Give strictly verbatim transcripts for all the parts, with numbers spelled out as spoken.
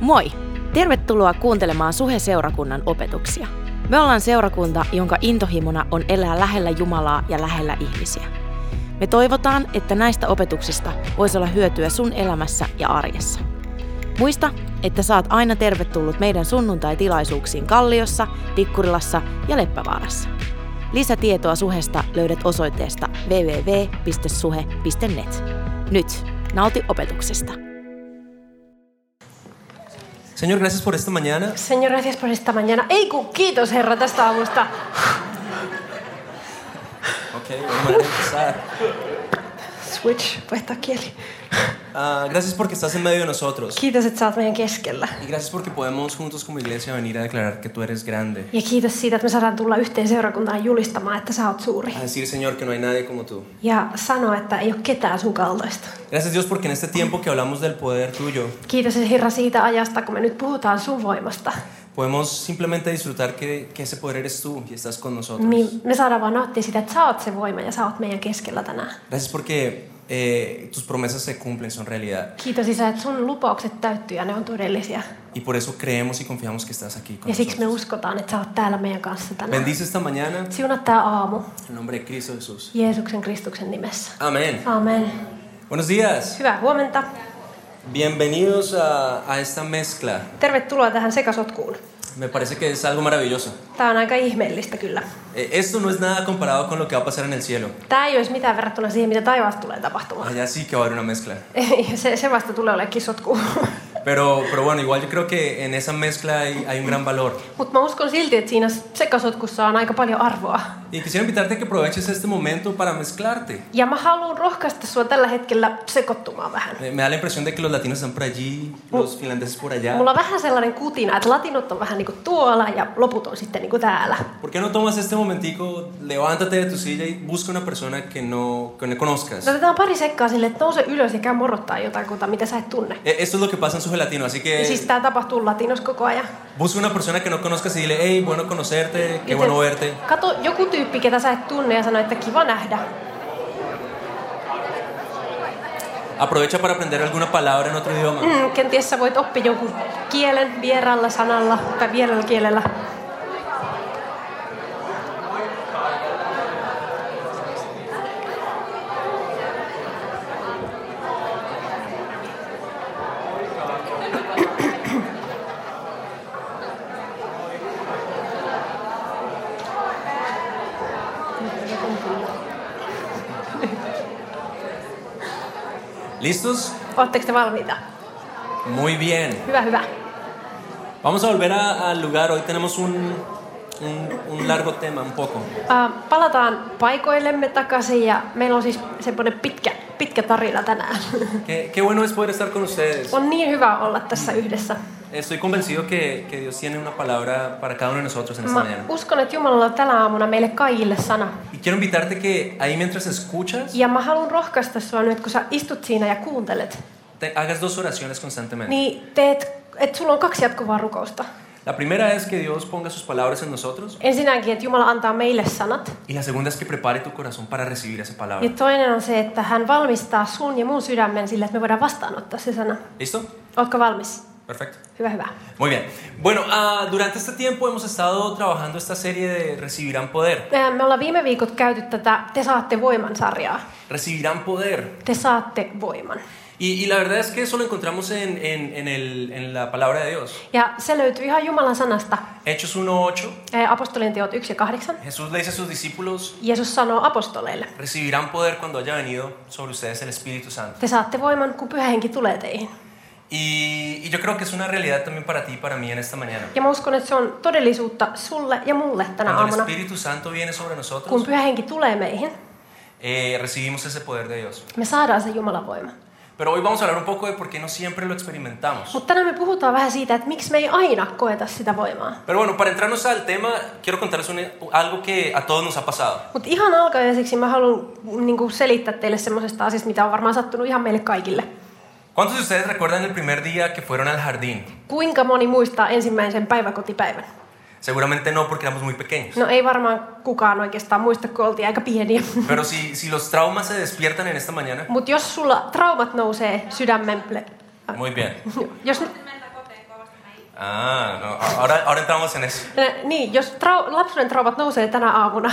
Moi! Tervetuloa kuuntelemaan Suhe-seurakunnan opetuksia. Me ollaan seurakunta, jonka intohimona on elää lähellä Jumalaa ja lähellä ihmisiä. Me toivotaan, että näistä opetuksista voisi olla hyötyä sun elämässä ja arjessa. Muista, että saat aina tervetullut meidän sunnuntai-tilaisuuksiin Kalliossa, Tikkurilassa ja Leppävaarassa. Lisätietoa Suhesta löydät osoitteesta double-u double-u double-u piste suhe piste net. Nyt, nauti opetuksesta. Señor, gracias por esta mañana. Señor, gracias por esta mañana. Ei kun kiitos Herra tästä aamusta. Okay, vamos a empezar. Switch, vaihtaa kieli. Uh, gracias porque estás en medio de nosotros. Kiitos, että sä oot meidän keskellä. Y gracias porque podemos juntos como iglesia venir a declarar que tú eres grande. Ja kiitos siitä, että me saadaan tulla yhteen seurakuntaan julistamaan, että sä oot suuri. A decir, Señor, que no hay nadie como tú. Ja sanoa, että ei ole ketään sun kaltaista. Gracias Dios porque en este tiempo que hablamos del poder tuyo, Kiitos Herra siitä ajasta, kun me nyt puhutaan sun voimasta. podemos simplemente disfrutar que, que ese poder eres tú y estás con nosotros. Niin me saadaan vaan nauttia sitä, että sä oot se voima ja sä oot meidän keskellä tänään. Gracias porque eh, tus promesas se cumplen, son realidad. Kiitos Isä, että sun lupaukset täyttyy ja ne on todellisia. Y por eso creemos y confiamos que estás aquí con Ja siksi me nosotros. uskotaan, että sä oot täällä meidän kanssa tänään. Bendice esta mañana Siunaa tää aamu en nombre de Cristo Jesús. Jeesuksen Kristuksen nimessä. Amén. Amen. Buenos días. Hyvää huomenta. Bienvenidos a, a esta mezcla. Tervetuloa tähän sekasotkuun. Me parece que es algo maravilloso. Tää on aika ihmeellistä kyllä. Eh, Esto no es nada comparado con lo que va a pasar en el cielo. Tää ei olisi mitään verrattuna siihen, mitä taivaassa tulee tapahtumaan. Allá sí que va a haber una mezcla. se, se vasta tulee olemaan kisotku. Pero, pero bueno, igual yo creo que en esa mezcla hay, hay un gran valor. Mutta mä uskon silti, että siinä sekasotkussa on aika paljon arvoa. Y quisiera invitarte a que aproveches este momento para mezclarte. Ja mä haluan rohkaista sua tällä hetkellä sekoittumaan vähän. Me, me da la impresión de que los latinos están por allí, los finlandeses por allá. Mulla on vähän sellainen kutina, että latinot on vähän niinku tuolla ja loput on sitten niinku täällä. ¿Por qué no tomas este momentico, levántate de tu silla y busca una persona que no, que no conozcas? No, otetaan pari sekkaa sille, että nouse ylös ja käy morottaa jotakuta, mitä sä et tunne. Eh, Esto es lo que pasa en Suhe Latino, así Ja siis que tää tapahtuu latinos koko ajan. busca una persona que no conozcas y dile, hey, bueno conocerte, qué bueno verte. Kato joku tyyppi, ketä sä et tunne ja sano, että kiva nähdä. Aprovecha para aprender alguna palabra en otro idioma. Mm, kenties sä voit oppia jonkun kielen vieraalla sanalla tai vieraalla kielellä. ¿Listos? Ootteko te valmiita? Muy bien. Hyvä, hyvä. Vamos a volver a- al lugar. Hoy tenemos un, un, un largo tema, un poco. Uh, palataan paikoillemme takaisin ja meillä on siis semmoinen pitkä, pitkä tarina tänään. Qué, qué bueno es poder estar con ustedes. On niin hyvä olla tässä yhdessä. Estoy convencido que, que Dios tiene una palabra para cada uno de nosotros en esta Mä mañana. uskon, että Jumalalla on tänä aamuna meille kaikille sana. Y quiero invitarte que ahí mientras escuchas, Ja mä haluan rohkaista sua nyt, kun sä istut siinä ja kuuntelet, te hagas dos oraciones constantemente. niin teet, että sulla on kaksi jatkuvaa rukousta. La primera es que Dios ponga sus palabras en nosotros. Ensinnäkin, että Jumala antaa meille sanat. Y la segunda es que prepare tu corazón para recibir esa palabra. Ja toinen on se, että hän valmistaa sun ja mun sydämen sille, että me voidaan vastaanottaa se sana. ¿Listo? Ootko valmis? Perfecto. Hyvä, hyvä. Muy bien. Bueno, uh, durante este tiempo hemos estado trabajando esta serie de Recibirán Poder. Me ollaan viime viikot käyty tätä Te saatte voiman sarjaa. Recibirán Poder. Te saatte voiman. Y, y la verdad es que eso lo encontramos en, en, en, el, en la palabra de Dios. Ja se löytyy ihan Jumalan sanasta. Hechos uno ocho. Ää, Apostolien teot yksi ja kahdeksan. Jesús le dice a sus discípulos, Jeesus sanoo apostoleille. recibirán poder cuando haya venido sobre ustedes el Espíritu Santo. Te saatte voiman, kun Pyhä Henki tulee teihin. Y, y yo creo que es una realidad también para ti y para mí en esta mañana. Ja mä uskon, että se on todellisuutta sulle ja mulle tänä Cuando el aamuna. Espíritu Santo viene sobre Kun nosotros, Pyhä Henki tulee meihin, eh, recibimos ese poder de Dios. me saadaan se Jumalan voima. Pero hoy vamos a hablar un poco de por qué no siempre lo experimentamos. Mutta tänään me puhutaan vähän siitä, että miksi me ei aina koeta sitä voimaa. Pero bueno, para entrarnos al tema, quiero contarles un- algo que a todos nos ha pasado. Mutta ihan alkajaiseksi mä haluan niin selittää teille semmoisesta asiasta, mitä on varmaan sattunut ihan meille kaikille. ¿Cuántos de ustedes recuerdan el primer día que fueron al jardín? Kuinka moni muistaa ensimmäisen päiväkotipäivän? Seguramente no, porque éramos muy pequeños. No ei varmaan kukaan oikeastaan muista, kun oltiin aika pieniä. Pero si, si los traumas se despiertan en esta mañana, Mutta jos sulla traumat nousee sydämen... muy bien. Jos, Ah, no, ahora, ahora entramos en eso. Niin, jos trau- lapsuuden traumat nousee tänä aamuna,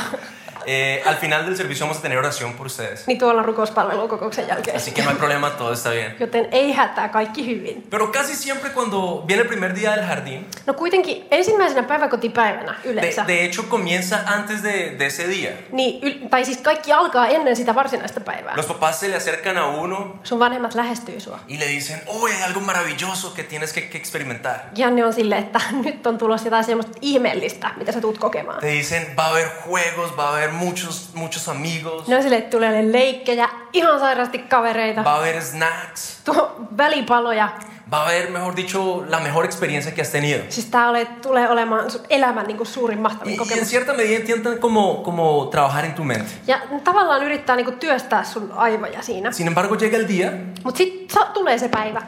Eh, al final del servicio vamos a tener oración por ustedes. niin tuolla on rukouspalvelun kokouksen jälkeen. Así que no hay problema, todo está bien. Joten ei hätää, kaikki hyvin. Pero casi siempre cuando viene el primer día del jardín, No kuitenkin ensimmäisenä päiväkotipäivänä de, yleensä, de hecho comienza antes de, de ese día. niin, yl- tai siis kaikki alkaa ennen sitä varsinaista päivää. Los papás se le acercan a uno Sun vanhemmat lähestyy sua. y le dicen, oh, hay algo maravilloso que tienes que, que experimentar. Janne on silleen, että nyt on tulossa jotain semmoista ihmeellistä, mitä sä tuut kokemaan. Te dicen, va a haber juegos, va a haber muchos, muchos amigos, Ne on silleen, että tulee leikkejä, ihan sairaasti kavereita, va a haber snacks, tuo välipaloja. va a haber, mejor dicho, la mejor experiencia que has tenido. Siis tää ole, tulee olemaan sun elämän niin kuin suurin mahtavin Y, y en kokemus. cierta medida intentan como, como trabajar en tu mente. Ja tavallaan yrittää niin kuin työstää sun aivoja siinä. Sin embargo, llega el día Mut sit sa- tulee se päivä.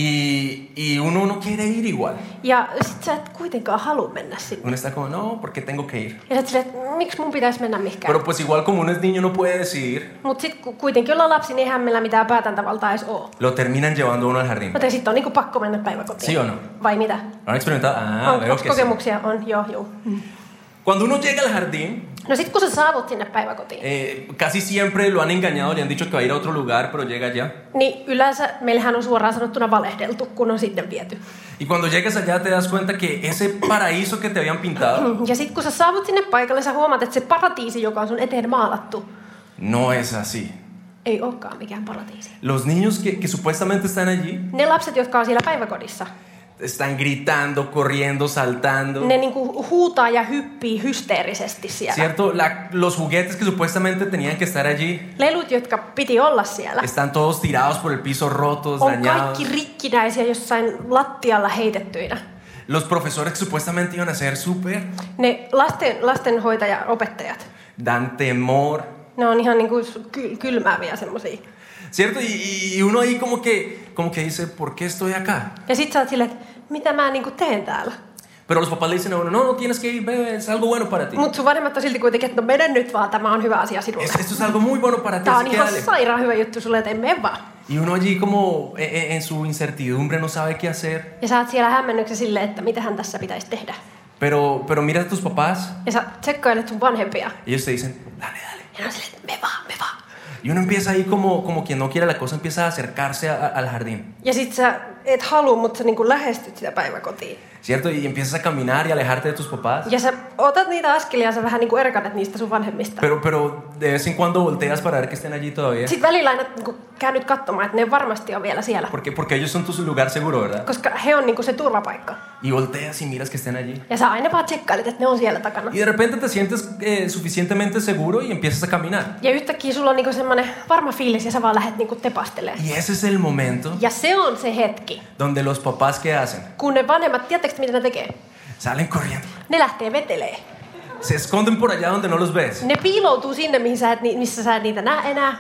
y, y uno no quiere ir igual. Ja sit sä et kuitenkaan halua mennä sinne. Uno está como, no, porque tengo que ir. Ja sä et silleen, että miksi mun pitäisi mennä mihinkään. Pero pues igual como uno es niño no puede decidir, Mut sit ku- kuitenkin ollaan lapsi, niin eihän meillä mitään päätäntävaltaa edes oo. lo terminan llevando uno al jardín. Joten sit on niinku pakko mennä päiväkotiin. ¿Sí o no? Vai mitä? ¿Lo han experimentado? Ah, on, veo onks que sí. kokemuksia? On, joo, joo. Cuando uno llega al jardín, No sit kun sä saavut sinne päiväkotiin, eh, casi siempre lo han engañado, le han dicho que va a ir a otro lugar, pero llega allá. niin yleensä meillähän on suoraan sanottuna valehdeltu, kun on sinne viety. Y cuando llegas allá te das cuenta que ese paraíso que te habían pintado Ja sit kun sä saavut sinne paikalle, sä huomaat, että se paratiisi, joka on sun eteen maalattu, no es así. ei olekaan mikään paratiisi. Los niños que, que supuestamente están allí Ne lapset, jotka on siellä päiväkodissa, están gritando, corriendo, saltando. ne niinku huutaa ja hyppii hysteerisesti siellä. ¿Cierto? La- los juguetes que supuestamente tenían que estar allí Lelut, jotka piti olla siellä, están todos tirados por el piso, rotos, on dañados. kaikki rikkinäisiä jossain lattialla heitettyinä. Los profesores que supuestamente iban a ser súper Ne lasten, lastenhoitaja-opettajat, dan temor. ne on ihan niinku ky- kylmääviä semmosia. ¿Cierto? Y, y uno ahí como que, como que dice, ¿por qué estoy acá? Ja sit sä oot silleen, että mitä mä niinku teen täällä? Pero los papás le dicen a uno, no, no tienes que ir, bebé, es algo bueno para ti. Mut sun vanhemmat on silti kuitenkin, että no mene nyt vaan, tämä on hyvä asia sinulle. Es- esto es algo muy bueno para ti, Tää on así que ihan dale. sairaan hyvä juttu sulle, että mene vaan. Y uno allí como en, en- en su incertidumbre no sabe qué hacer. Ja sä oot siellä hämmennyksessä silleen, että mitähän tässä pitäisi tehdä. Pero, pero mira a tus papás Ja sä tsekkailet sun vanhempia. y ellos te dicen, dale, dale. Ja ne on silleen, että me vaan, me vaan. Y uno empieza ahí como, como quien no quiere la cosa, empieza a acercarse a- al jardín. Ja sit sä et halua, mutta sä niinku lähestyt sitä päiväkotiin. ¿Cierto? Y empiezas a caminar y alejarte de tus papás. Ja sä otat niitä askelia ja sä vähän niinku erkanet niistä sun vanhemmista. Pero, pero de vez en cuando volteas para ver que estén allí todavía. Sitten välillä aina niinku käännyt katsomaan, että ne varmasti on vielä siellä. Porque, porque ellos son tu lugar seguro, ¿verdad? Koska he on niinku se turvapaikka. Y volteas y miras que estén allí. Ja sä aina vaan tsekkailet, että ne on siellä takana. Y de repente te sientes eh, suficientemente seguro y empiezas a caminar. Ja yhtäkkiä sulla on niinku semmoinen varma fiilis ja sä vaan lähdet niinku tepastelemaan. Y ese es el momento Ja se on se hetki, donde los papás, ¿qué hacen? kun ne vanhemmat, tiedättekö mitä ne tekee? Salen corriendo. Ne lähtee vetelee. Se esconden por allá donde no los ves. Ne piiloutuu sinne, mihin sä et, ni- missä sä et niitä näe enää.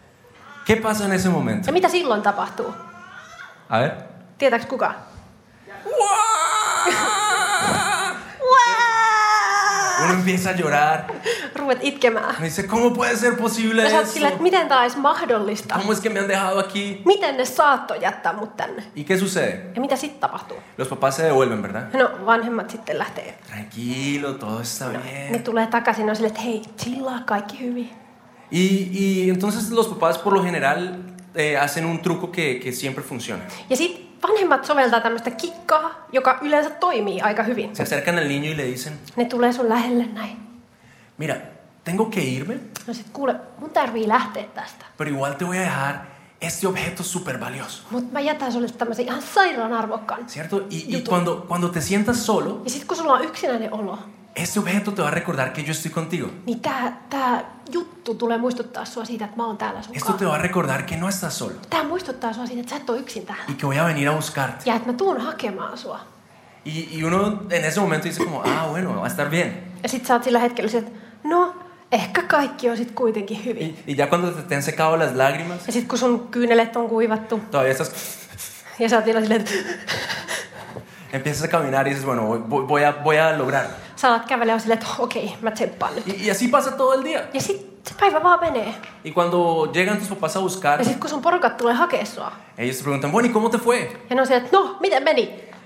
¿Qué pasa en ese momento? Ja mitä silloin tapahtuu? A ver. Tietääks kuka? Uno empieza a llorar. Ruvet itkemään. Me dice, ¿cómo puede ser posible Ja sä oot eso? silleen, että miten tää olisi mahdollista? ¿Cómo es que me han dejado aquí? Miten ne saattoi jättää mut tänne? ¿Y qué sucede? Ja mitä sitten tapahtuu? Los papás se devuelven, ¿verdad? No, vanhemmat sitten lähtee. Tranquilo, todo está Ne bien. tulee takaisin ja on silleen, että hei, chillaa, kaikki hyvin. Y, y entonces los papás por lo general eh, hacen un truco que, que siempre funciona. Ja sit vanhemmat soveltaa tämmöistä kikkaa, joka yleensä toimii aika hyvin. Se acercan al niño y le dicen, Ne tulee sun lähelle näin. mira, tengo que irme, No sit kuule, mun tarvii lähteä tästä. pero igual te voy a dejar este objeto súper valioso. Mut mä jätän sulle tämmöisen ihan sairaan arvokkaan. ¿Cierto? Y, y Yutu. cuando, cuando te sientas solo, Ja sit kun sulla on yksinäinen olo, este objeto te va a recordar que yo estoy contigo. niin tää, tää juttu tulee muistuttaa sua siitä, että mä oon täällä sun Esto kanssa. te va a recordar que no estás solo Tää muistuttaa sua siitä, että sä et oo yksin täällä. y que voy a venir a buscarte. Ja että mä tuun hakemaan sua. Y, y uno en ese momento dice como, ah, bueno, va a estar bien. Ja sit sä oot sillä hetkellä se, että no, ehkä kaikki on sit kuitenkin hyvin. Y, y ya cuando te, te han secado las lágrimas, Ja sit kun sun kyynelet on kuivattu, todavía estás... ja sä oot vielä silleen, että Empiezas a caminar y dices, bueno, voy, voy, a, voy a lograrlo. sä alat kävellä ja silleen, että okei, mä tsemppaan nyt. Y, y así pasa todo el día. Ja sit se päivä vaan menee. Y cuando llegan tus papás a buscar, Ja sit kun sun porukat tulee hakea sua, ellos te preguntan, bueno, ¿y cómo te fue? ja ne on silleen, että no, miten meni?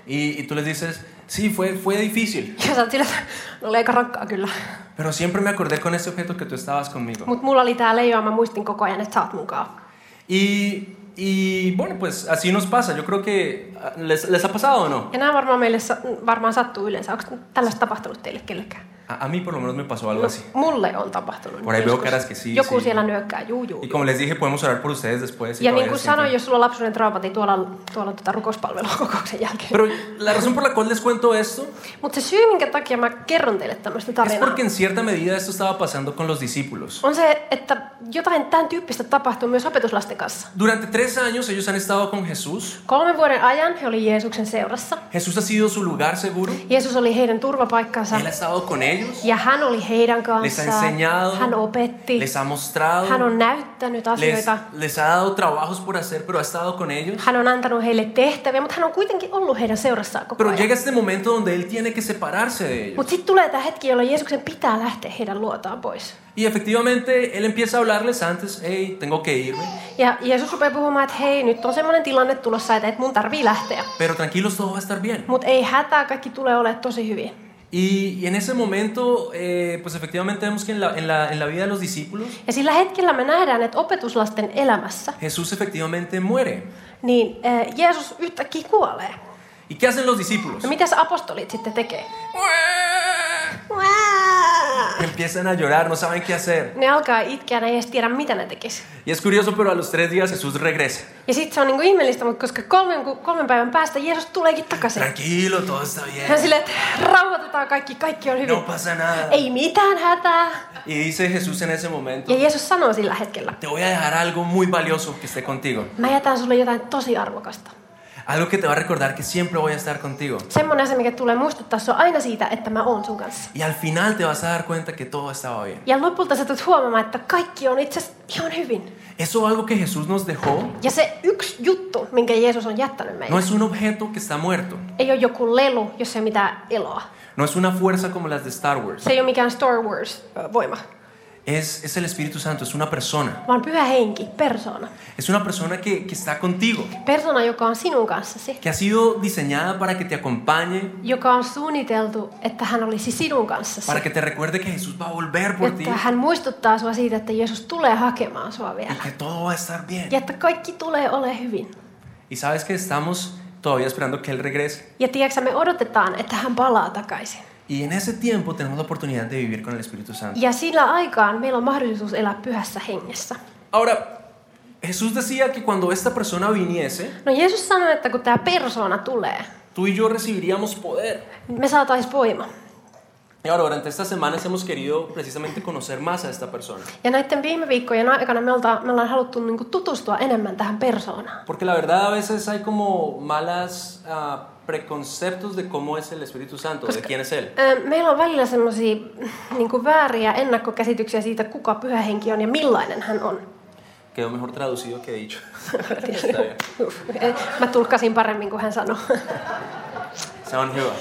Y, y tú les dices, sí, fue, fue difícil. Ja sä oot sillä, että no oli aika rankkaa kyllä. Pero siempre me acordé con ese objeto que tú estabas conmigo. Mut mulla oli tää leijona, mä muistin koko ajan, että sä oot mukaan. Y, y bueno, pues así nos pasa. Yo creo que les, les ha pasado o no. Ja nämä varmaan meille sa- varmaan sattuu yleensä. Onko tällaista tapahtunut teille kellekään? A, a mí por lo menos me pasó algo así. Mulle on tapahtunut. Por ahí veo joskus. caras que sí, Joku sí. siellä nyökkää, juu juu. Y como les dije, podemos orar por ustedes después. y Ja todavía niin kuin sienten- sanoin, jos sulla on lapsuuden traumat, niin tuolla, tuolla on tota rukouspalvelua kokouksen jälkeen. Pero la razón por la cual les cuento esto Mutta se syy, minkä takia mä kerron teille tämmöistä es tarinaa, porque en cierta medida esto estaba pasando con los discípulos. on se, että jotain tämän tyyppistä tapahtuu myös opetuslasten kanssa. Durante tres años ellos han estado con Jesús. Kolmen vuoden ajan he oli Jeesuksen seurassa. Jesús ha sido su lugar seguro. Jeesus oli heidän turvapaikkansa. Él ha estado con ellos. Ja hän oli heidän Les ha kanssaan. enseñado. Hän opetti. Les ha mostrado. Hän on näyttänyt Les, asioita. les ha dado trabajos por hacer, pero ha estado con ellos. Hän on antanut heille tehtäviä, mutta hän on kuitenkin ollut heidän seurassaan koko Pero ajan. llega este momento donde él tiene que separarse de ellos. Mutta sitten tulee tämä hetki, jolloin Jeesuksen pitää lähteä heidän luotaan pois. Y efectivamente él empieza a hablarles antes, hey, tengo que irme. Ja Jeesus rupeaa puhumaan, että hei, nyt on semmoinen tilanne tulossa, että et mun tarvii lähteä. Pero tranquilos, todo va a estar bien. Mutta ei hätää, kaikki tulee olemaan tosi hyvin. Y, y en ese momento, eh, pues efectivamente vemos que en la, en, la, en la vida de los discípulos, Ja sillä hetkellä me nähdään, että opetuslasten elämässä, Jesús efectivamente muere. niin äh, Jeesus yhtäkkiä kuolee. ¿Y qué hacen los discípulos? No mitäs apostolit sitten tekee? Empiezan a llorar, no saben qué hacer. Ne alkaa itkeä, ne ei edes tiedä, mitä ne tekis. Y es curioso, pero a los tres días Jesús regresa. Ja sitten se on niinku ihmeellistä, mutta koska kolmen, kolmen päivän päästä Jeesus tuleekin takaisin. Tranquilo, todo está Hän bien. silleen, että rauhoitetaan kaikki, kaikki on hyvin. No pasa nada. Ei mitään hätää. Y dice Jesús en ese momento, Ja Jeesus sanoo sillä hetkellä, te voy a dejar algo muy valioso que esté contigo. mä jätän sulle jotain tosi arvokasta. Algo que te va a recordar que siempre voy a estar contigo. Semmoinen asia, mikä tulee muistuttaa sua aina siitä, että mä oon sun kanssa. Y al final te vas a dar cuenta que todo estaba bien. Ja lopulta sä tulet huomaamaan, että kaikki on itse asiassa ihan hyvin. Eso algo que Jesús nos dejó Ja se yksi juttu, minkä Jeesus on jättänyt no meille, es un objeto que está muerto. ei ole joku lelu, jos ei ole mitään eloa. No es una fuerza como las de Star Wars. Se ei ole mikään Star Wars-voima, Es, es el Espíritu Santo, es una persona. vaan pyhä henki, persona. Es una persona que, que está contigo, Persona, joka on sinun kanssasi, que ha sido diseñada para que te acompañe, joka on suunniteltu, että hän olisi sinun kanssasi. para que te recuerde que Jesús va a volver por ti Että hän muistuttaa sua siitä, että Jeesus tulee hakemaan sua y vielä. que todo va a estar bien. Ja että kaikki tulee ole hyvin. Y sabes que estamos todavía esperando que Él regrese. Ja tiedätkö, me odotetaan, että hän palaa takaisin. Y en ese tiempo tenemos la oportunidad de vivir con el Espíritu Santo. Ja sillä aikaan meillä on mahdollisuus elää pyhässä hengessä. Ahora, Jesús decía que cuando esta persona viniese, No Jeesus sanoi, että kun tämä persona tulee, tú y yo recibiríamos poder. me saataisiin voima. Y ahora, durante estas semanas hemos querido precisamente conocer más a esta persona. Ja näiden viime viikkojen aikana me, olta, me ollaan haluttu niinku tutustua enemmän tähän persoonaan. Porque la verdad a veces hay como malas uh, preconceptos de cómo es el Espíritu Santo, de quién es Él. Ö, Meillä on välillä semmoisia niinku vääriä ennakkokäsityksiä siitä, kuka pyhä henki on ja millainen hän on. Quedó mejor traducido que dicho. Está bien. Mä tulkkasin paremmin kuin hän sanoi. Se on hyvä.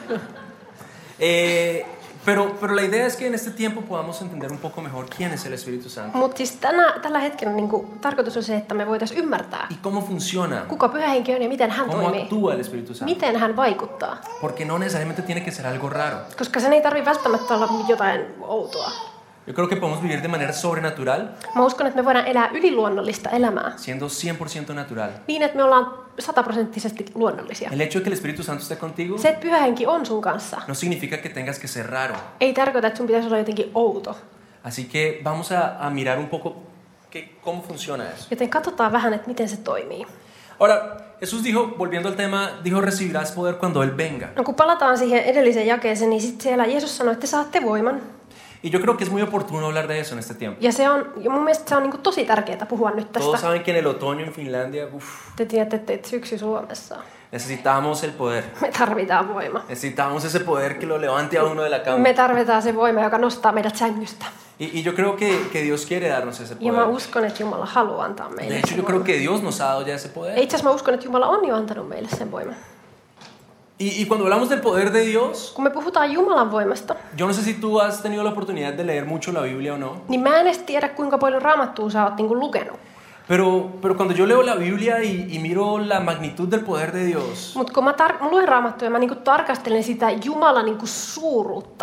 Eh, pero, pero la idea es que en este tiempo podamos entender un poco mejor quién es el Espíritu Santo Mutta siis tänä, tällä hetkellä niinku, tarkoitus on se, että me voitaisiin ymmärtää, y cómo funciona, kuka pyhä henki on ja miten hän cómo toimii. actúa el Espíritu Santo. Miten hän vaikuttaa. Porque no necesariamente tiene que ser algo raro. Koska sen ei tarvitse välttämättä olla jotain outoa. Yo creo que podemos vivir de manera sobrenatural, Mä uskon, että me voidaan elää yliluonnollista elämää. siendo cien por ciento natural. Niin, että me ollaan sataprosenttisesti luonnollisia. El hecho de que el Espíritu Santo esté contigo Se, että pyhä henki on sun kanssa, no significa que tengas que ser raro. ei tarkoita, että sun pitäisi olla jotenkin outo. Así que vamos a, a mirar un poco que, cómo funciona eso. Joten katsotaan vähän, että miten se toimii. Ahora, Jesús dijo, volviendo al tema, dijo, recibirás poder cuando Él venga. No, kun palataan siihen edelliseen jakeeseen, niin sitten siellä Jeesus sanoi, että te saatte voiman. Y yo creo que es muy oportuno hablar de eso en este tiempo. Ja se on, ja mun mielestä se on niin kuin tosi tärkeää puhua nyt Todos tästä. saben que en el otoño en Finlandia, uf, Te tiedätte, että syksy Suomessa. necesitamos el poder. Me tarvitaan voima. Necesitamos ese poder que lo levante a uno de la cama. Me tarvitaan se voima, joka nostaa meidät sängystä. Y, y yo creo que, que Dios quiere darnos ese Ja mä poder. uskon, että Jumala haluaa antaa De meille hecho, sen yo creo voiman. que Dios nos ha dado ya ese Ja poder. itse asiassa mä uskon, että Jumala on jo antanut meille sen voiman. Y, y cuando hablamos del poder de Dios, Kun me puhutaan Jumalan voimasta, yo no sé si tú has tenido la oportunidad de leer mucho la Biblia o no, niin mä en edes tiedä, kuinka paljon raamattua sä oot niinku lukenut. Pero, pero cuando yo leo la Biblia y, y miro la magnitud del poder de Dios, Mutta kun mä, tar- mä luen Raamattua ja mä niinku tarkastelen sitä Jumalan niinku suuruutta,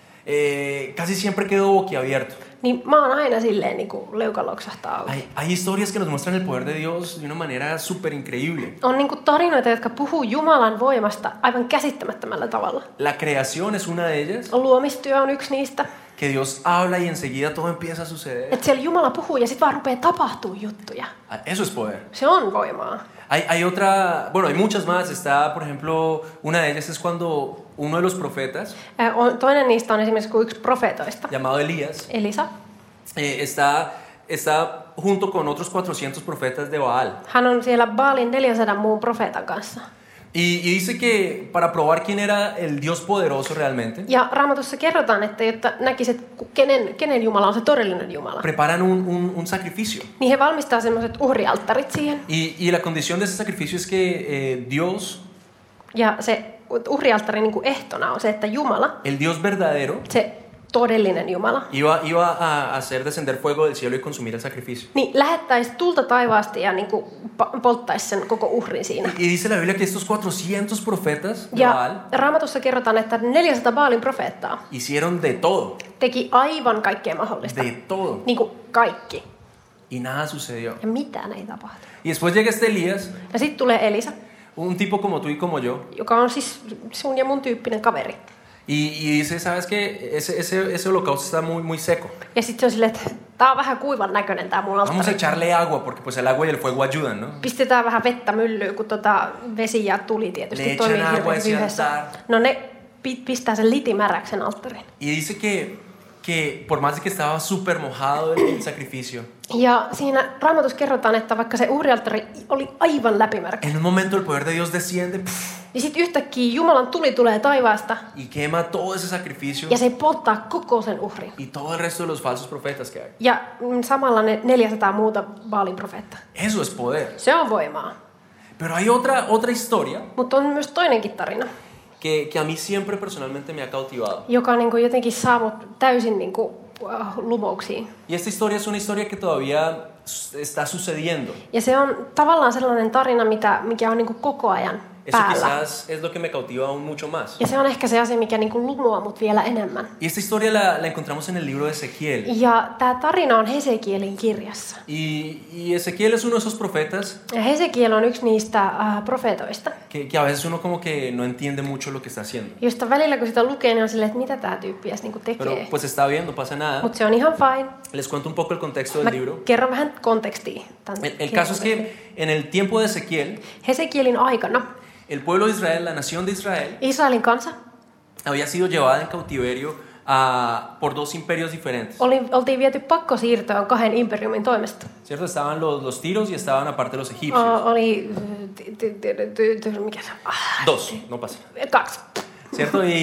eh, casi siempre quedo boquiabierto. niin mä oon aina silleen niinku leuka loksahtaa auki. Hay, hay historias que nos muestran el poder de Dios de una manera súper increíble. On niinku tarinoita, jotka puhuu Jumalan voimasta aivan käsittämättömällä tavalla. La creación es una de ellas, Luomistyö on yksi niistä. que Dios habla y enseguida todo empieza a suceder. Että siellä Jumala puhuu ja sit vaan rupeaa tapahtuu juttuja. Eso es poder. Se on voimaa. Hay, hay otra, bueno, hay muchas más. Está, por ejemplo, una de ellas es cuando uno de los profetas, Äh, on- Toinen niistä on esimerkiksi kuin yksi profeetoista, llamado Elías, Elisa. eh, está, está junto con otros cuatrocientos profetas de Baal. Hän on siellä Baalin neljänsadan muun profeetan kanssa. Y, y dice que para probar quién era el Dios poderoso realmente, Ja Raamatussa kerrotaan, että jotta näkisit, kenen, kenen Jumala on se todellinen Jumala, preparan un, un, un sacrificio. niin he valmistaa semmoiset uhrialttarit siihen. Y, y la condición de ese sacrificio es que eh, Dios, Ja se uhrialttarin niin kuin ehtona on se, että Jumala, el Dios verdadero, se todellinen Jumala, iba, iba a hacer descender fuego del cielo y consumir el sacrificio. niin lähettäisi tulta taivaasta ja niin kuin pa- polttaisi sen koko uhrin siinä. Y dice la Biblia que estos cuatrocientos profetas de Baal Ja Raamatussa kerrotaan, että neljäsataa Baalin profeettaa hicieron de todo, teki aivan kaikkea mahdollista. de todo, Niin kuin kaikki. y nada sucedió. Ja mitään ei tapahtu. Y después llega este Elías, Ja sitten tulee Elisa, un tipo como tú y como yo, joka on siis sun ja mun tyyppinen kaveri. y, y dice, ¿sabes qué? Ese, ese, ese holocausto está muy, muy seco. Ja sitten se on silleen, että tää on vähän kuivan näköinen tää mun Vamos a alttari. echarle agua, porque pues el agua y el fuego ayudan, ¿no? Pistetään vähän vettä myllyyn, kun tota vesi ja tuli tietysti Le toimii echan agua hirveän ese yhdessä. altar. No ne pi- pistää sen litimäräksen alttarin. Y dice que, que por más de que estaba súper mojado el, el sacrificio, Ja siinä Raamatussa kerrotaan, että vaikka se uhrialttari oli aivan läpimärkä, en un momento el poder de Dios desciende pff, niin sitten yhtäkkiä Jumalan tuli tulee taivaasta y quema todo ese sacrificio ja se polttaa koko sen uhrin. y todo el resto de los falsos profetas que hay. Ja mm, samalla ne neljäsataa muuta Baalin profeettaa. Eso es poder. Se on voimaa. Pero hay otra, otra historia Mutta on myös toinenkin tarina, que, que a mí siempre personalmente me ha cautivado. joka niin kuin jotenkin saa mut täysin niin kuin, uh, lumouksiin. Y esta historia es una historia que todavía está sucediendo. Ja se on tavallaan sellainen tarina, mitä, mikä on niin kuin koko ajan Eso päällä. quizás es lo que me cautiva aún mucho más. Ja se on ehkä se asia, mikä niin kuin lumoaa mut vielä enemmän. Y esta historia la, la encontramos en el libro de Ezequiel. Ja tämä tarina on Hesekielin kirjassa. Y, y Ezequiel es uno de esos profetas Ja Hesekiel on yksi niistä uh, profeetoista, que, que a veces uno como que no entiende mucho lo que está haciendo. josta välillä kun sitä lukee, niin on silleen, että mitä tämä tyyppi edes niinku Pero tekee. pues está bien, no pasa nada. Mutta se on ihan fine. Les cuento un poco el contexto Mä del libro. kerron vähän kontekstia. Tämän El, el kirjan caso es que en el tiempo de Ezequiel, Hesekielin aikana el pueblo de Israel, la nación de Israel, Israelin kansa había sido llevada en cautiverio a, por dos imperios diferentes. oli, oltiin viety pakkosiirtoon kahden imperiumin toimesta. ¿Cierto? Estaban los, los tiros y estaban aparte los egipcios. O, oli, ty- ty- ty- ty- ty- mikä se on? Ah, Dos, no pasa. Kaksi. ¿Cierto? Y,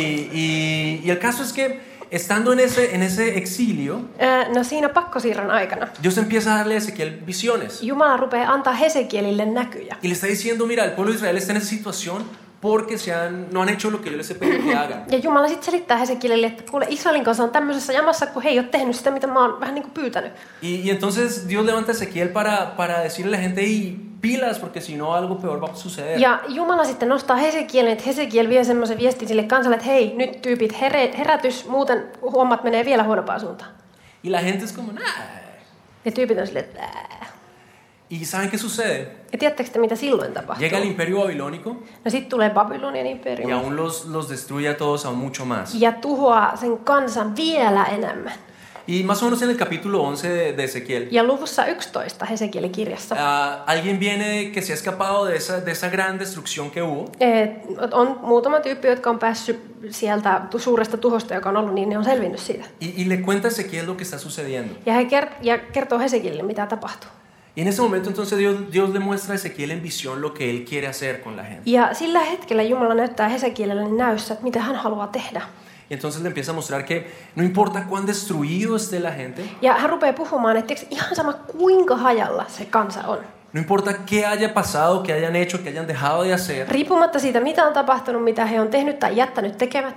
y, y el caso es que estando en ese, en ese exilio, Ö, No siinä pakkosiirron aikana Dios empieza a darle a Ezequiel visiones. Jumala rupeaa antaa Hesekielille näkyjä. Y le está diciendo, mira, el pueblo de Israel está en esa situación porque se han, no han hecho lo que yo les he pedido que hagan. Ja Jumala sitten selittää Hesekielille, että kuule Israelin kanssa on tämmöisessä jamassa, kun he ei ole tehnyt sitä, mitä mä oon vähän niin kuin pyytänyt. Y, y entonces Dios levanta a Ezequiel para, para decirle a la gente, y pilas, porque si no algo peor va a suceder. Ja Jumala sitten nostaa Hesekielin, että Hesekiel vie semmoisen viestin sille kansalle, että hei, nyt tyypit here, herätys, muuten hommat menee vielä huonompaan suuntaan. Y la gente es como, nah. Ja tyypit on silleen, että ää. ¿Y saben qué sucede? Ja tiedättekö te, mitä silloin tapahtuu? Llega el imperio babilónico No sitten tulee Babylonian y imperiumi aún los, los destruye a todos aún mucho más. ja tuhoaa sen kansan vielä enemmän. Y más o menos en el capítulo once de, de Ezequiel, Ja luvussa yksitoista Hesekielin kirjassa uh, alguien viene que se ha escapado de esa, de esa gran destrucción que hubo. eh, on muutama tyyppi, jotka on päässyt sieltä tu- suuresta tuhosta, joka on ollut, niin ne on selvinnyt siitä. Y, y le cuenta a Ezequiel lo que está sucediendo. Ja he ker- ja kertoo Hesekielille, mitä tapahtuu. Y en ese momento entonces Dios, Dios le muestra a Ezequiel en visión lo que él quiere hacer con la gente. Ja sillä hetkellä Jumala näyttää Hesekielelle näyssä, että mitä hän haluaa tehdä. Y entonces le empieza a mostrar que no importa cuán destruido esté la gente, Ja hän rupeaa puhumaan, että tiiäks, ihan sama kuinka hajalla se kansa on. no importa qué haya pasado, qué hayan hecho, qué hayan dejado de hacer, Riippumatta siitä, mitä on tapahtunut, mitä he on tehnyt tai jättänyt tekemättä.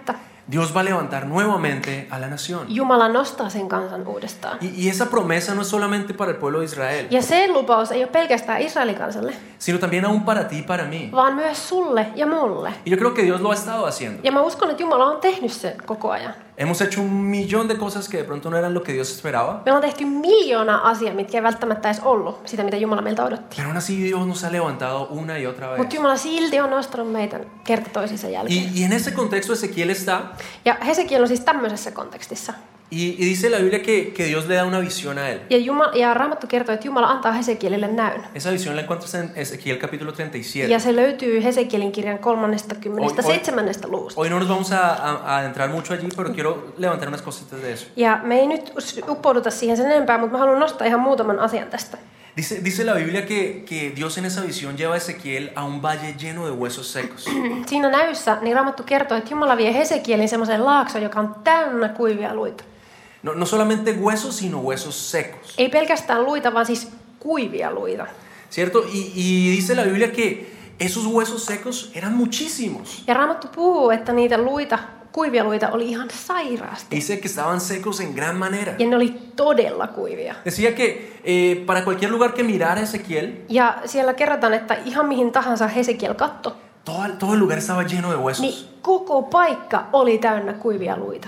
Dios va a levantar nuevamente a la nación. Jumala nostaa sen kansan uudestaan. Y, y esa promesa no es solamente para el pueblo de Israel, Ja se lupaus ei ole pelkästään Israelin kansalle, sino también aún para ti y para mí. vaan myös sulle ja mulle. Y yo creo que Dios lo ha estado haciendo. Ja mä uskon, että Jumala on tehnyt sen koko ajan. Hemos hecho un millón de cosas que de pronto no eran lo que Dios esperaba, Me on tehty miljoona asiaa, mitkä ei välttämättä edes ollut sitä, mitä Jumala meiltä odotti. pero aún así Dios nos ha levantado una y otra vez. Mutta Jumala silti on nostanut meitä kerta toisensa jälkeen. Y, y en ese contexto Ezequiel está, Ja Hesekiel on siis tämmöisessä kontekstissa. y, y dice la Biblia que, que Dios le da una visión a él. Ja, Jumala, ja Raamattu kertoo, että Jumala antaa Hesekielille näyn. Esa visión la encuentras en Ezequiel capítulo treinta y siete. Ja se löytyy Hesekielin kirjan kolmannesta luvusta. Hoy no nos vamos a, a, a adentrar mucho allí, pero quiero levantar unas cositas de eso. Ja me ei nyt uppouduta siihen sen enempää, mutta mä haluan nostaa ihan muutaman asian tästä. Dice, dice la Biblia que, que Dios en esa visión lleva a Ezequiel a un valle lleno de huesos secos. Siinä näyssä niin Raamattu kertoo, että Jumala vie Hesekielin semmoiseen laaksoon, joka on täynnä kuivia luita. No, no solamente huesos, sino huesos secos. Ei pelkästään luita, vaan siis kuivia luita. ¿Cierto? Y, y dice la Biblia que esos huesos secos eran muchísimos. Ja Raamattu puhuu, että niitä luita, kuivia luita oli ihan sairaasti. Dice que estaban secos en gran manera. Ja ne oli todella kuivia. Decía que eh, para cualquier lugar que mirara Ezequiel, Ja siellä kerrotaan, että ihan mihin tahansa Hesekiel katto, todo, todo el lugar estaba lleno de huesos. niin koko paikka oli täynnä kuivia luita.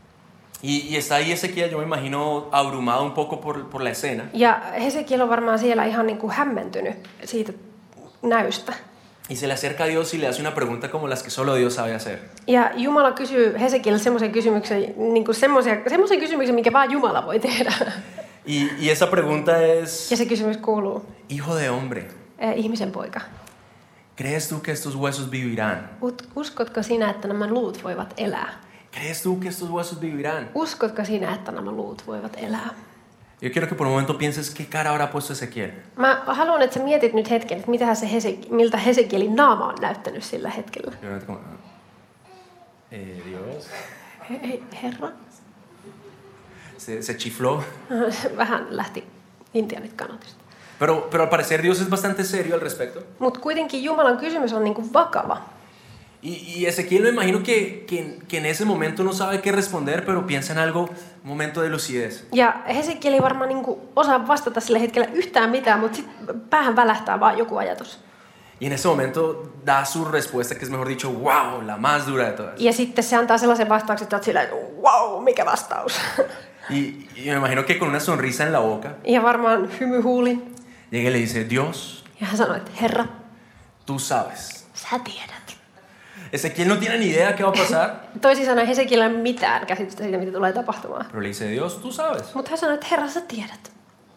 Y, y está ahí Ezequiel, yo me imagino abrumado un poco por, por la escena. Ja Hesekiel on varmaan siellä ihan niin kuin hämmentynyt siitä näystä. Y se le acerca a Dios y le hace una pregunta como las que solo Dios sabe hacer. Ja Jumala kysyy Hesekielille semmoisen kysymyksen, niin kuin semmoisen kysymyksen, minkä vaan Jumala voi tehdä. Y, y esa pregunta es, Ja se kysymys kuuluu, hijo de hombre, eh, ihmisen poika, ¿crees tú que estos huesos vivirán? uskotko sinä, että nämä luut voivat elää? ¿Crees tú que estos huesos vivirán? Uskotko sinä, että nämä luut voivat elää? Yo quiero que por un momento pienses qué cara habrá puesto Ezequiel. Mä haluan, että sä mietit nyt hetken, että mitähän se Hesek- miltä Hesekielin naama on näyttänyt sillä hetkellä. Eh, Dios. Hei, herra. Se, se chifló. Vähän lähti intianit kanatista. Pero, pero al parecer Dios es bastante serio al respecto. Mutta kuitenkin Jumalan kysymys on niinku vakava. Y, y Ezequiel me imagino que, que, que en ese momento no sabe qué responder, pero piensa en algo, un momento de lucidez. Ja Hesekiel ei varmaan niinku osaa vastata sillä hetkellä yhtään mitään, mutta sitten päähän välähtää vaan joku ajatus. Y en ese momento da su respuesta, que es mejor dicho, wow, la más dura de todas. Ja sitten se antaa sellaisen vastauksen, että olet sillä, että wow, mikä vastaus. Y, y me imagino que con una sonrisa en la boca, Ja varmaan hymy huulin. llega y le dice, Dios, Ja hän sanoi, että Herra, tú sabes. sä tiedät. Ezequiel no tiene ni idea qué va a pasar, Toisin sanoen Hesekiel ei ole mitään käsitystä siitä, mitä tulee tapahtumaan. pero le dice, Dios, tú sabes. Mutta hän sanoi, että Herra, sä tiedät.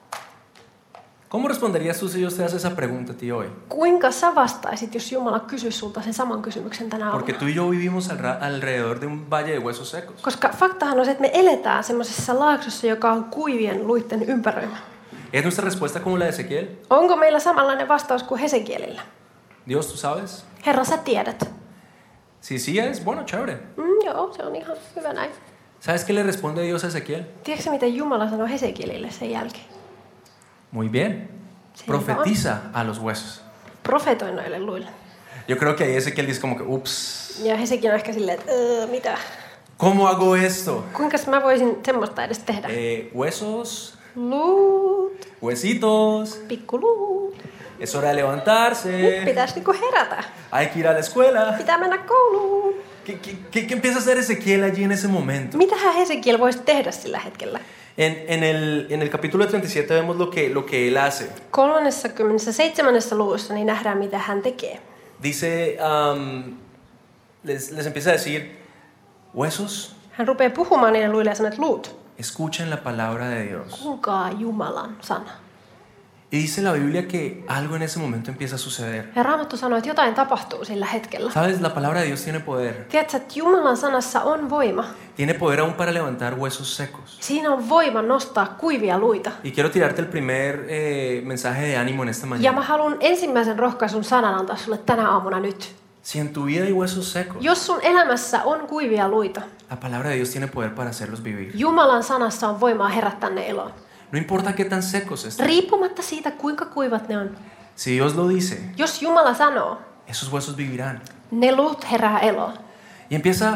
¿Cómo responderías tú si Dios te hace esa pregunta a ti hoy? Kuinka sä vastaisit, jos Jumala kysyisi sulta sen saman kysymyksen tänä Porque aamuna? tú y yo vivimos al- alrededor de un valle de huesos secos. Koska faktahan on se, että me eletään semmoisessa laaksossa, joka on kuivien luitten ympäröimä. ¿Es nuestra respuesta como la de Ezequiel? Onko meillä samanlainen vastaus kuin Hesekielillä? Dios, tú sabes. Herra, sä tiedät. Si sí es, bueno, chévere. Mm, joo, se on ihan hyvä näin. ¿Sabes qué le responde Dios a Ezequiel? Tiedätkö miten Jumala sanoi Hesekielille sen jälkeen? Muy bien. Profetiza a los huesos. Profetoi noille luille. Yo creo que ahí Ezequiel dice como que, ups, Ja Hesekiel on ehkä silleen, että öö, mitä? ¿cómo hago esto? Kuinka mä voisin semmoista edes tehdä? Eh, huesos, Luut, huesitos, pikkuluut. es hora de Nyt levantarse, pitäisi niinku herätä. hay que ir a la escuela. Pitää mennä kouluun. ¿Qué, qué, qué, qué empieza a hacer Ezequiel allí en ese momento? Mitähän Hesekiel voisi tehdä sillä hetkellä? En, en, el, en el capítulo treinta y siete vemos lo que, lo que él hace. kolmannessakymmenennessäseitsemännessä luvussa niin nähdään, mitä hän tekee. Dice, um, les, les empieza a decir, huesos, Hän rupeaa puhumaan niille luille ja sanoo, että luut, escuchen la palabra de Dios. kuulkaa Jumalan sana. Y dice la Biblia que algo en ese momento empieza a suceder. Ja Raamattu sanoo, että jotain tapahtuu sillä hetkellä. ¿Sabes? La palabra de Dios tiene poder. Tiedätkö, että Jumalan sanassa on voima. Tiene poder aún para levantar huesos secos. Siinä on voima nostaa kuivia luita. Y quiero tirarte el primer eh, mensaje de ánimo en esta Ja mä mañana. haluan ensimmäisen rohkaisun sanan antaa sulle tänä aamuna nyt. Si en tu vida hay huesos secos, Jos sun elämässä on kuivia luita, la palabra de Dios tiene poder para hacerlos vivir. Jumalan sanassa on voimaa herättää ne eloon. No importa qué tan secos estén. Riippumatta siitä, kuinka kuivat ne on. Si Dios lo dice, Jos Jumala sanoo, esos huesos vivirán. ne luut herää eloon. Y empieza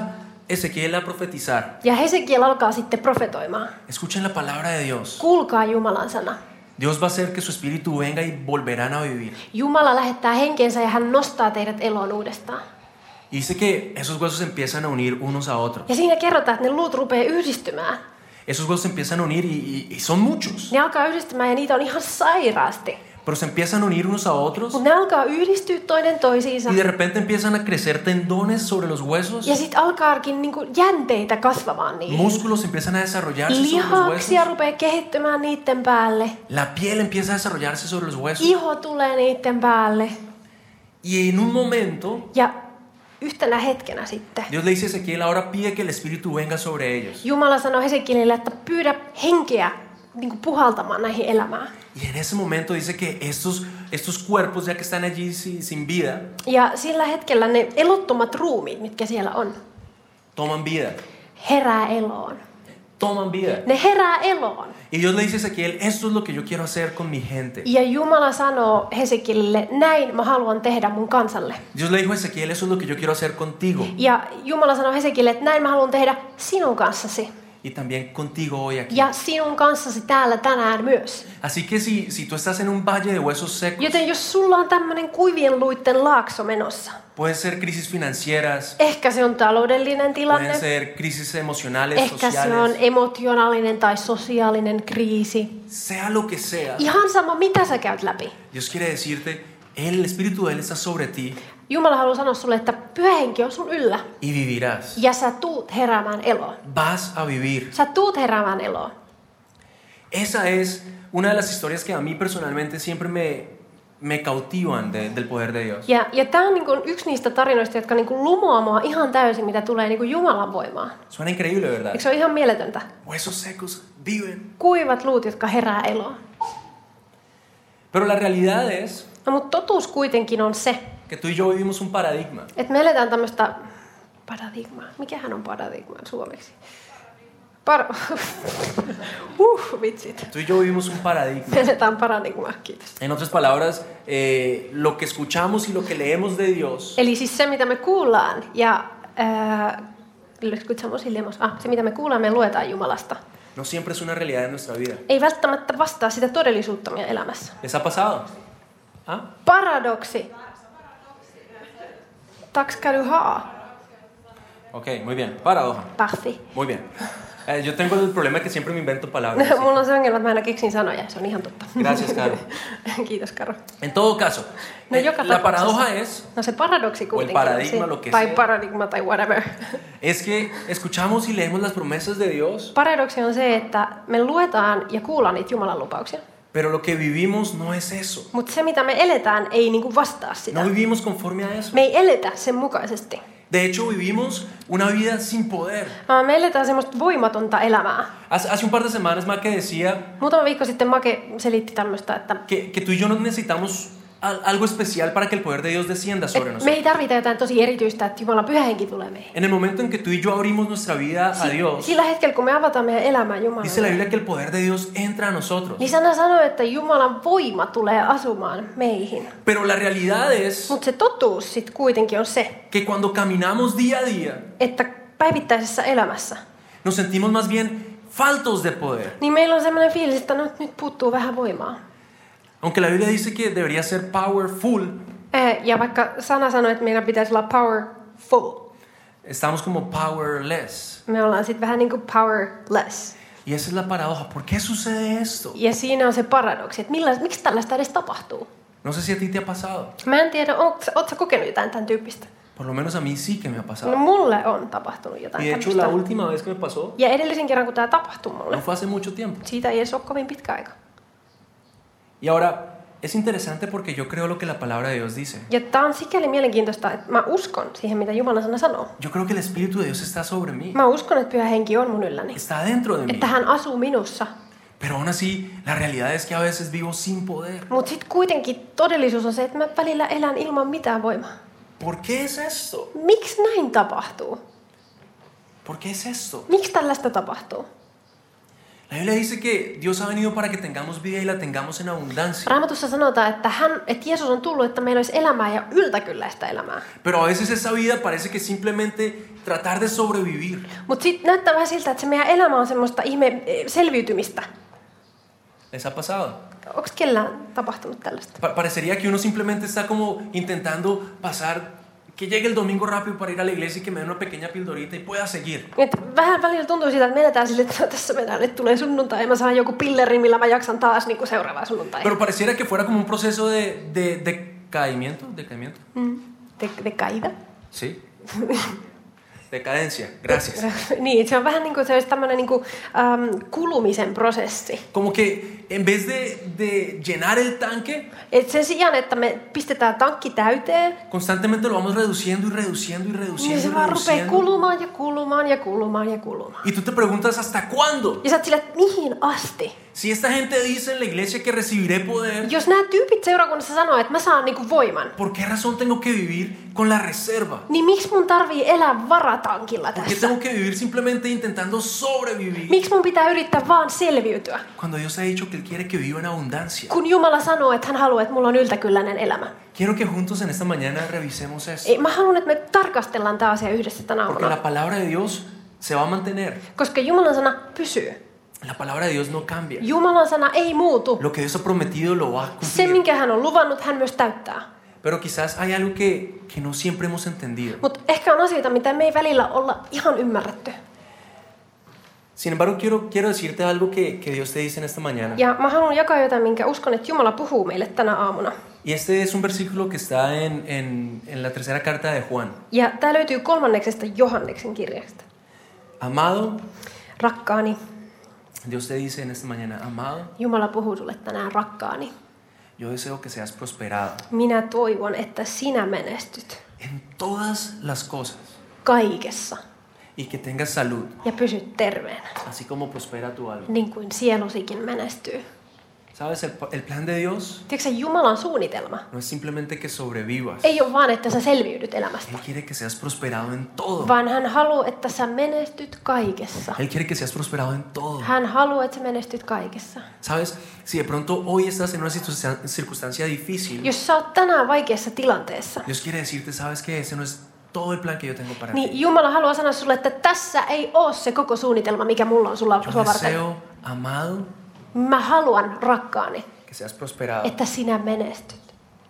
Ezequiel a profetizar. Ja Hesekiel alkaa sitten profetoimaan. Escuchen la palabra de Dios. Kuulkaa Jumalan sana. Dios va a hacer que su espíritu venga y volverán a vivir. Jumala lähettää henkensä ja hän nostaa teidät eloon uudestaan. Y dice que esos huesos empiezan a unir unos a otros. Ja siinä kerrotaan, että ne luut rupeaa yhdistymään. Esos huesos se empiezan a unir y, y, y son muchos. Ne alkaa yhdistymään ja niitä on ihan sairaasti. Pero se empiezan a unir unos a otros. Mutta ne alkaa yhdistyä toinen toisiinsa. Y de repente empiezan a crecer tendones sobre los huesos. Ja sitten alkaakin niinku jänteitä kasvamaan niihin. Músculos empiezan a desarrollarse sobre los Lihaksia huesos. rupeaa kehittymään niiden päälle. La piel empieza a desarrollarse sobre los huesos. Iho tulee niiden päälle. Y en un momento, Ja yhtenä hetkenä sitten Dios le dice a Ezequiel, ahora pide que el espíritu venga sobre ellos. Jumala sanoi Hesekielille, että pyydä henkeä niin kuin puhaltamaan näihin elämään. Y en ese momento dice que estos, estos cuerpos, ya que están allí sin, sin vida, Ja sillä hetkellä ne elottomat ruumiit, mitkä siellä on, toman vida. herää eloon. Toman vida. Ne herää eloon. Y Dios le dice a Ezequiel, esto es lo que yo quiero hacer con mi gente. Ja Jumala sanoo Hesekielille, näin mä haluan tehdä mun kansalle. Dios le dijo a Ezequiel, eso es lo que yo quiero hacer contigo. Ja Jumala sanoo Hesekielille, että näin mä haluan tehdä sinun kanssasi. Y también contigo hoy aquí. Ja sinun kanssasi täällä tänään myös. Así que si, si tú estás en un valle de huesos secos, Joten jos sulla on tämmönen kuivien luitten laakso menossa, pueden ser crisis financieras, ehkä se on taloudellinen tilanne, pueden ser crisis emocionales, ehkä se on sociales, emotionaalinen tai sosiaalinen kriisi. sea lo que sea. Ihan sama, mitä sä käyt läpi. Dios quiere decirte, el Espíritu de Él está sobre ti Jumala haluaa sanoa sulle, että Pyhä Henki on sun yllä. y vivirás. Ja sä tuut heräämään eloon. Vas a vivir. Sä tuut heräämään eloon. Esa es una de las historias que a mí personalmente siempre me, me cautivan de- del poder de Dios. Ja, ja tämä on niin kuin yksi niistä tarinoista, jotka niin kuin lumoaa mua ihan täysin, mitä tulee niin kuin Jumalan voimaan. Suena increíble, ¿verdad? Eikö se ole ihan mieletöntä? Huesos secos viven. Kuivat luut, jotka herää eloon. Pero la realidad es No, mutta totuus kuitenkin on se, que tú y yo vivimos un paradigma. että me eletään tämmöistä paradigmaa. Mikähän on paradigma suomeksi? Par... uh, vitsit. Tú y yo vivimos un paradigma. Me eletään paradigmaa, kiitos. En otras palabras, eh, lo que escuchamos y lo que leemos de Dios Eli siis se, mitä me kuullaan ja ää, lo escuchamos y leemos. Ah, se, mitä me kuullaan, me luetaan Jumalasta. no siempre es una realidad en nuestra vida. Ei välttämättä vastaa sitä todellisuutta meidän elämässä. ¿Les ha pasado? ¿Ah? Paradoksi. Tack ska du ha. Ok, muy bien. Paradoja. Parfi. Muy bien. Eh, yo tengo el problema que siempre me invento palabras. así. Mulla on se ongelma, että mä aina keksin sanoja. Se on ihan totta. Gracias, Caro. Kiitos, Karo. En todo caso, No, eh, joka la tapauksessa. paradoja es, No se paradoksi kuitenkin paradigma, on lo se, que tai sea. paradigma tai whatever. es que escuchamos y leemos las promesas de Dios, Paradoksi on se, että me luetaan ja kuullaan niitä Jumalan lupauksia. pero lo que vivimos no es eso. Mutta se, mitä me eletään, ei niinku vastaa sitä. No vivimos conforme a eso. Me ei eletä sen mukaisesti. De hecho, vivimos una vida sin poder. Vaan me eletään semmoista voimatonta elämää. Hace, hace un par de semanas Maque decía Muutama viikko sitten Make selitti tämmöistä, että que, que tú y yo no necesitamos al- algo especial para que el poder de Dios descienda sobre et me nosotros. ei tarvita jotain tosi erityistä, että Jumalan Pyhä Henki tulee meihin. En el momento en que tú y yo abrimos nuestra vida a Dios, Sillä hetkellä, kun me avataan meidän elämää dice la Jumalalle, Biblia que el poder de Dios entra a nosotros. niin sana sanoo, että Jumalan voima tulee asumaan meihin. Pero la realidad es Mutta se totuus sitten kuitenkin on se, que cuando caminamos día a día, että päivittäisessä elämässä, nos sentimos más bien faltos de poder. niin meillä on semmoinen fiilis, että no, nyt puuttuu vähän voimaa. Aunque la Biblia dice que debería ser powerful, Eh, Ja vaikka sana sanoo, että meidän pitäisi olla powerful, estamos como powerless. me ollaan sitten vähän niin kuin powerless. Y esa es la paradoja. ¿Por qué sucede esto? Ja siinä on se paradoksi, että millä, miksi tällaista edes tapahtuu. No sé si a ti te ha pasado. Mä en tiedä, ootko sä kokenut jotain tämän tyyppistä? Por lo menos a mí sí que me ha No pasado. mulle on tapahtunut jotain Y de hecho tämmöistä. la última vez que me pasó Ja edellisen kerran, kun tämä tapahtui mulle, no fue hace mucho tiempo. siitä ei edes ole kovin pitkä aika. Y ahora, es interesante porque yo creo lo que la palabra de Dios dice. Ja tämä on sikäli mielenkiintoista, että mä uskon siihen, mitä Jumalan sana sanoo. Yo creo que el Espíritu de Dios está sobre mí. Mä uskon, että Pyhä Henki on mun ylläni. Está dentro de mí. Että hän asuu minussa. Pero aún así, la realidad es que a veces vivo sin poder. Mutta sitten kuitenkin todellisuus on se, että mä välillä elän ilman mitään voimaa. ¿Por qué es esto? Miksi näin tapahtuu? ¿Por qué es esto? Miksi tällaista tapahtuu? La Biblia dice que Dios ha venido para que tengamos vida y la tengamos en abundancia. Raamatussa sanotaan, että, hän, että Jeesus on tullut, että meillä olisi elämää ja yltäkylläistä elämää. Pero a veces esa vida parece que simplemente tratar de sobrevivir. Mutta sitten näyttää vähän siltä, että se meidän elämä on semmoista ihme selviytymistä. ¿Les ha pasado? Onko kellään tapahtunut tällaista? Pa- parecería que uno simplemente está como intentando pasar, que llegue el domingo rápido para ir a la iglesia y que me den una pequeña pildorita y pueda seguir. Et vähän välillä tuntuu siitä, että menetään sille, että tässä mennään, että tulee sunnuntai ja mä saan joku pilleri, millä mä jaksan taas niin kuin seuraavaa sunnuntai. Pero pareciera que fuera como un proceso de, de, de decaimiento, decaimiento. Mm. De, de caída. Sí. Decadencia, gracias. Niin, se on vähän niin kuin se olisi tämmöinen niin kuin, um, kulumisen prosessi. Como que en vez de, de llenar el tanque, Et sen sijaan, että me pistetään tankki täyteen, constantemente lo vamos reduciendo y reduciendo y niin reduciendo se y vaan rupeaa reduciendo. kulumaan ja kulumaan ja kulumaan ja kulumaan. Y tú te preguntas, ¿hasta cuándo? Ja sä oot sillä, että mihin asti? Si esta gente dice en la iglesia que recibiré poder, Jos nämä tyypit seurakunnassa sanoo, että mä saan niinku voiman, ¿por qué razón tengo que vivir con la reserva? niin miksi mun tarvii elää varatankilla ¿Por qué tässä? tengo que vivir simplemente intentando sobrevivir? Miksi mun pitää yrittää vaan selviytyä? Cuando Dios ha dicho que Él quiere que viva en abundancia. Kun Jumala sanoo, että hän haluaa, että mulla on yltäkylläinen elämä. Quiero que juntos en esta mañana revisemos esto. Ei, mä haluan, että me tarkastellaan tämä asia yhdessä tänä Porque aamuna. la palabra de Dios se va a mantener. Koska Jumalan sana pysyy. La palabra de Dios no cambia. Jumalan sana ei muutu. Lo que Dios ha prometido lo va a Se, cumplir. minkä hän on luvannut, hän myös täyttää. Pero quizás hay algo que, que no siempre hemos entendido. Mutta ehkä on asioita, mitä me ei välillä olla ihan ymmärretty. Sin embargo, quiero, quiero decirte algo que, que Dios te dice en esta mañana. Ja mä haluan jakaa jotain, minkä uskon, että Jumala puhuu meille tänä aamuna. Y este es un versículo que está en, en, en la tercera carta de Juan. Ja tää löytyy kolmanneksesta Johanneksen kirjasta. Amado, Rakkaani, Dios te dice en esta mañana, amado, Jumala puhuu sulle tänään, rakkaani. yo deseo que seas prosperado Minä toivon, että sinä menestyt en todas las cosas kaikessa y que tengas salud, ja pysyt terveenä, así como prospera tu alma. niin kuin sielusikin menestyy. ¿Sabes? El, el plan de Dios Tiedätkö, Jumalan suunnitelma no es simplemente que sobrevivas. ei ole vaan, että sä selviydyt elämästä, Él quiere que seas prosperado en todo. vaan hän haluaa, että sä menestyt kaikessa. Él quiere que seas prosperado en todo. Hän haluaa, että sä menestyt kaikessa. ¿Sabes? Si de pronto hoy estás en una situ- circunstancia difícil, Jos sä oot tänään vaikeassa tilanteessa, Dios quiere decirte, ¿sabes qué? Ese no es todo el plan que yo tengo para ti. niin Jumala haluaa sanoa sulle, että tässä ei ole se koko suunnitelma, mikä mulla on sulla, Yo sua varten. deseo, amado, Mä haluan, rakkaani, que seas prosperado. että sinä menestyt.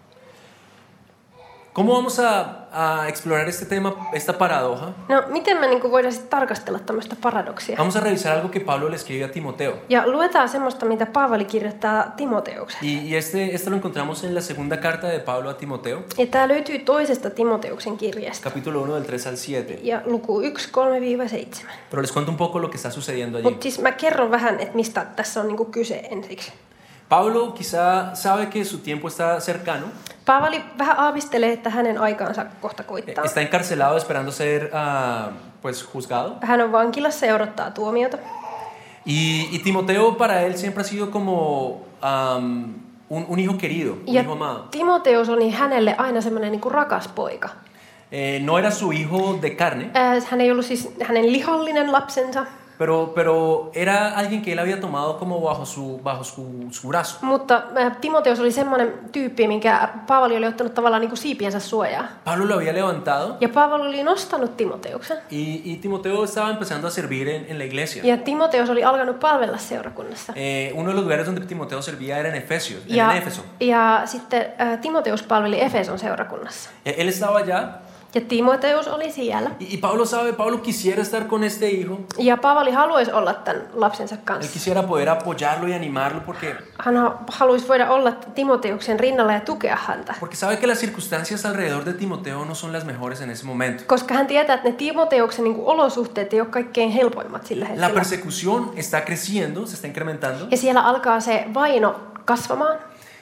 ¿Cómo vamos a, a explorar este tema, esta paradoja? No, miten me niin voidaan sitten tarkastella tämmöistä paradoksia? Vamos a revisar algo que Pablo le escribe a Timoteo. Ja luetaan semmoista, mitä Paavali kirjoittaa Timoteukseen. Y, y este, este lo encontramos en la segunda carta de Pablo a Timoteo, Ja tämä löytyy toisesta Timoteuksen kirjasta. capítulo uno del tres al siete. Ja luku yksi, kolme seitsemän. Pero les cuento un poco lo que está sucediendo allí. Mutta siis mä kerron vähän, että mistä tässä on niinku kyse ensiksi. Pablo quizá sabe que su tiempo está cercano. Paavali vähän aavistelee, että hänen aikaansa kohta koittaa. Está encarcelado esperando ser uh, pues juzgado. Hän on vankilassa ja odottaa tuomiota. Y, y Timoteo para él siempre ha sido como um, un, un hijo querido, un Ja hijo amado. Timoteus oli hänelle aina semmoinen niinku rakas poika. Eh, no era su hijo de carne, Ää, hän ei ollut siis hänen lihollinen lapsensa, pero, pero era alguien que él había tomado como bajo su, bajo su, su brazo. mutta ää, Timoteus oli semmoinen tyyppi, minkä Paavali oli ottanut tavallaan niinku siipiensä suojaa. Pablo lo había levantado Ja Paavali oli nostanut Timoteuksen. y, y Timoteo estaba empezando a servir en, en la iglesia. Ja Timoteus oli alkanut palvella seurakunnassa. Eh, uno de los lugares donde Timoteo servía era en Efesios, Ja, en Éfeso. ja sitten ää, Timoteus palveli Efeson seurakunnassa. Eh, Él estaba allá Ja Timoteus oli siellä. y, y Pablo sabe, Pablo quisiera estar con este hijo. Ja Paavali haluaisi olla tämän lapsensa Él kanssa. quisiera poder apoyarlo y animarlo porque, Hän ha- haluaisi voida olla Timoteuksen rinnalla ja tukea häntä. porque sabe que las circunstancias alrededor de Timoteo no son las mejores en ese momento. Koska hän tietää, että ne Timoteuksen niin kuin olosuhteet ei ole kaikkein helpoimmat sillä La hetkellä. persecución está creciendo, se está incrementando. Ja siellä alkaa se vaino kasvamaan.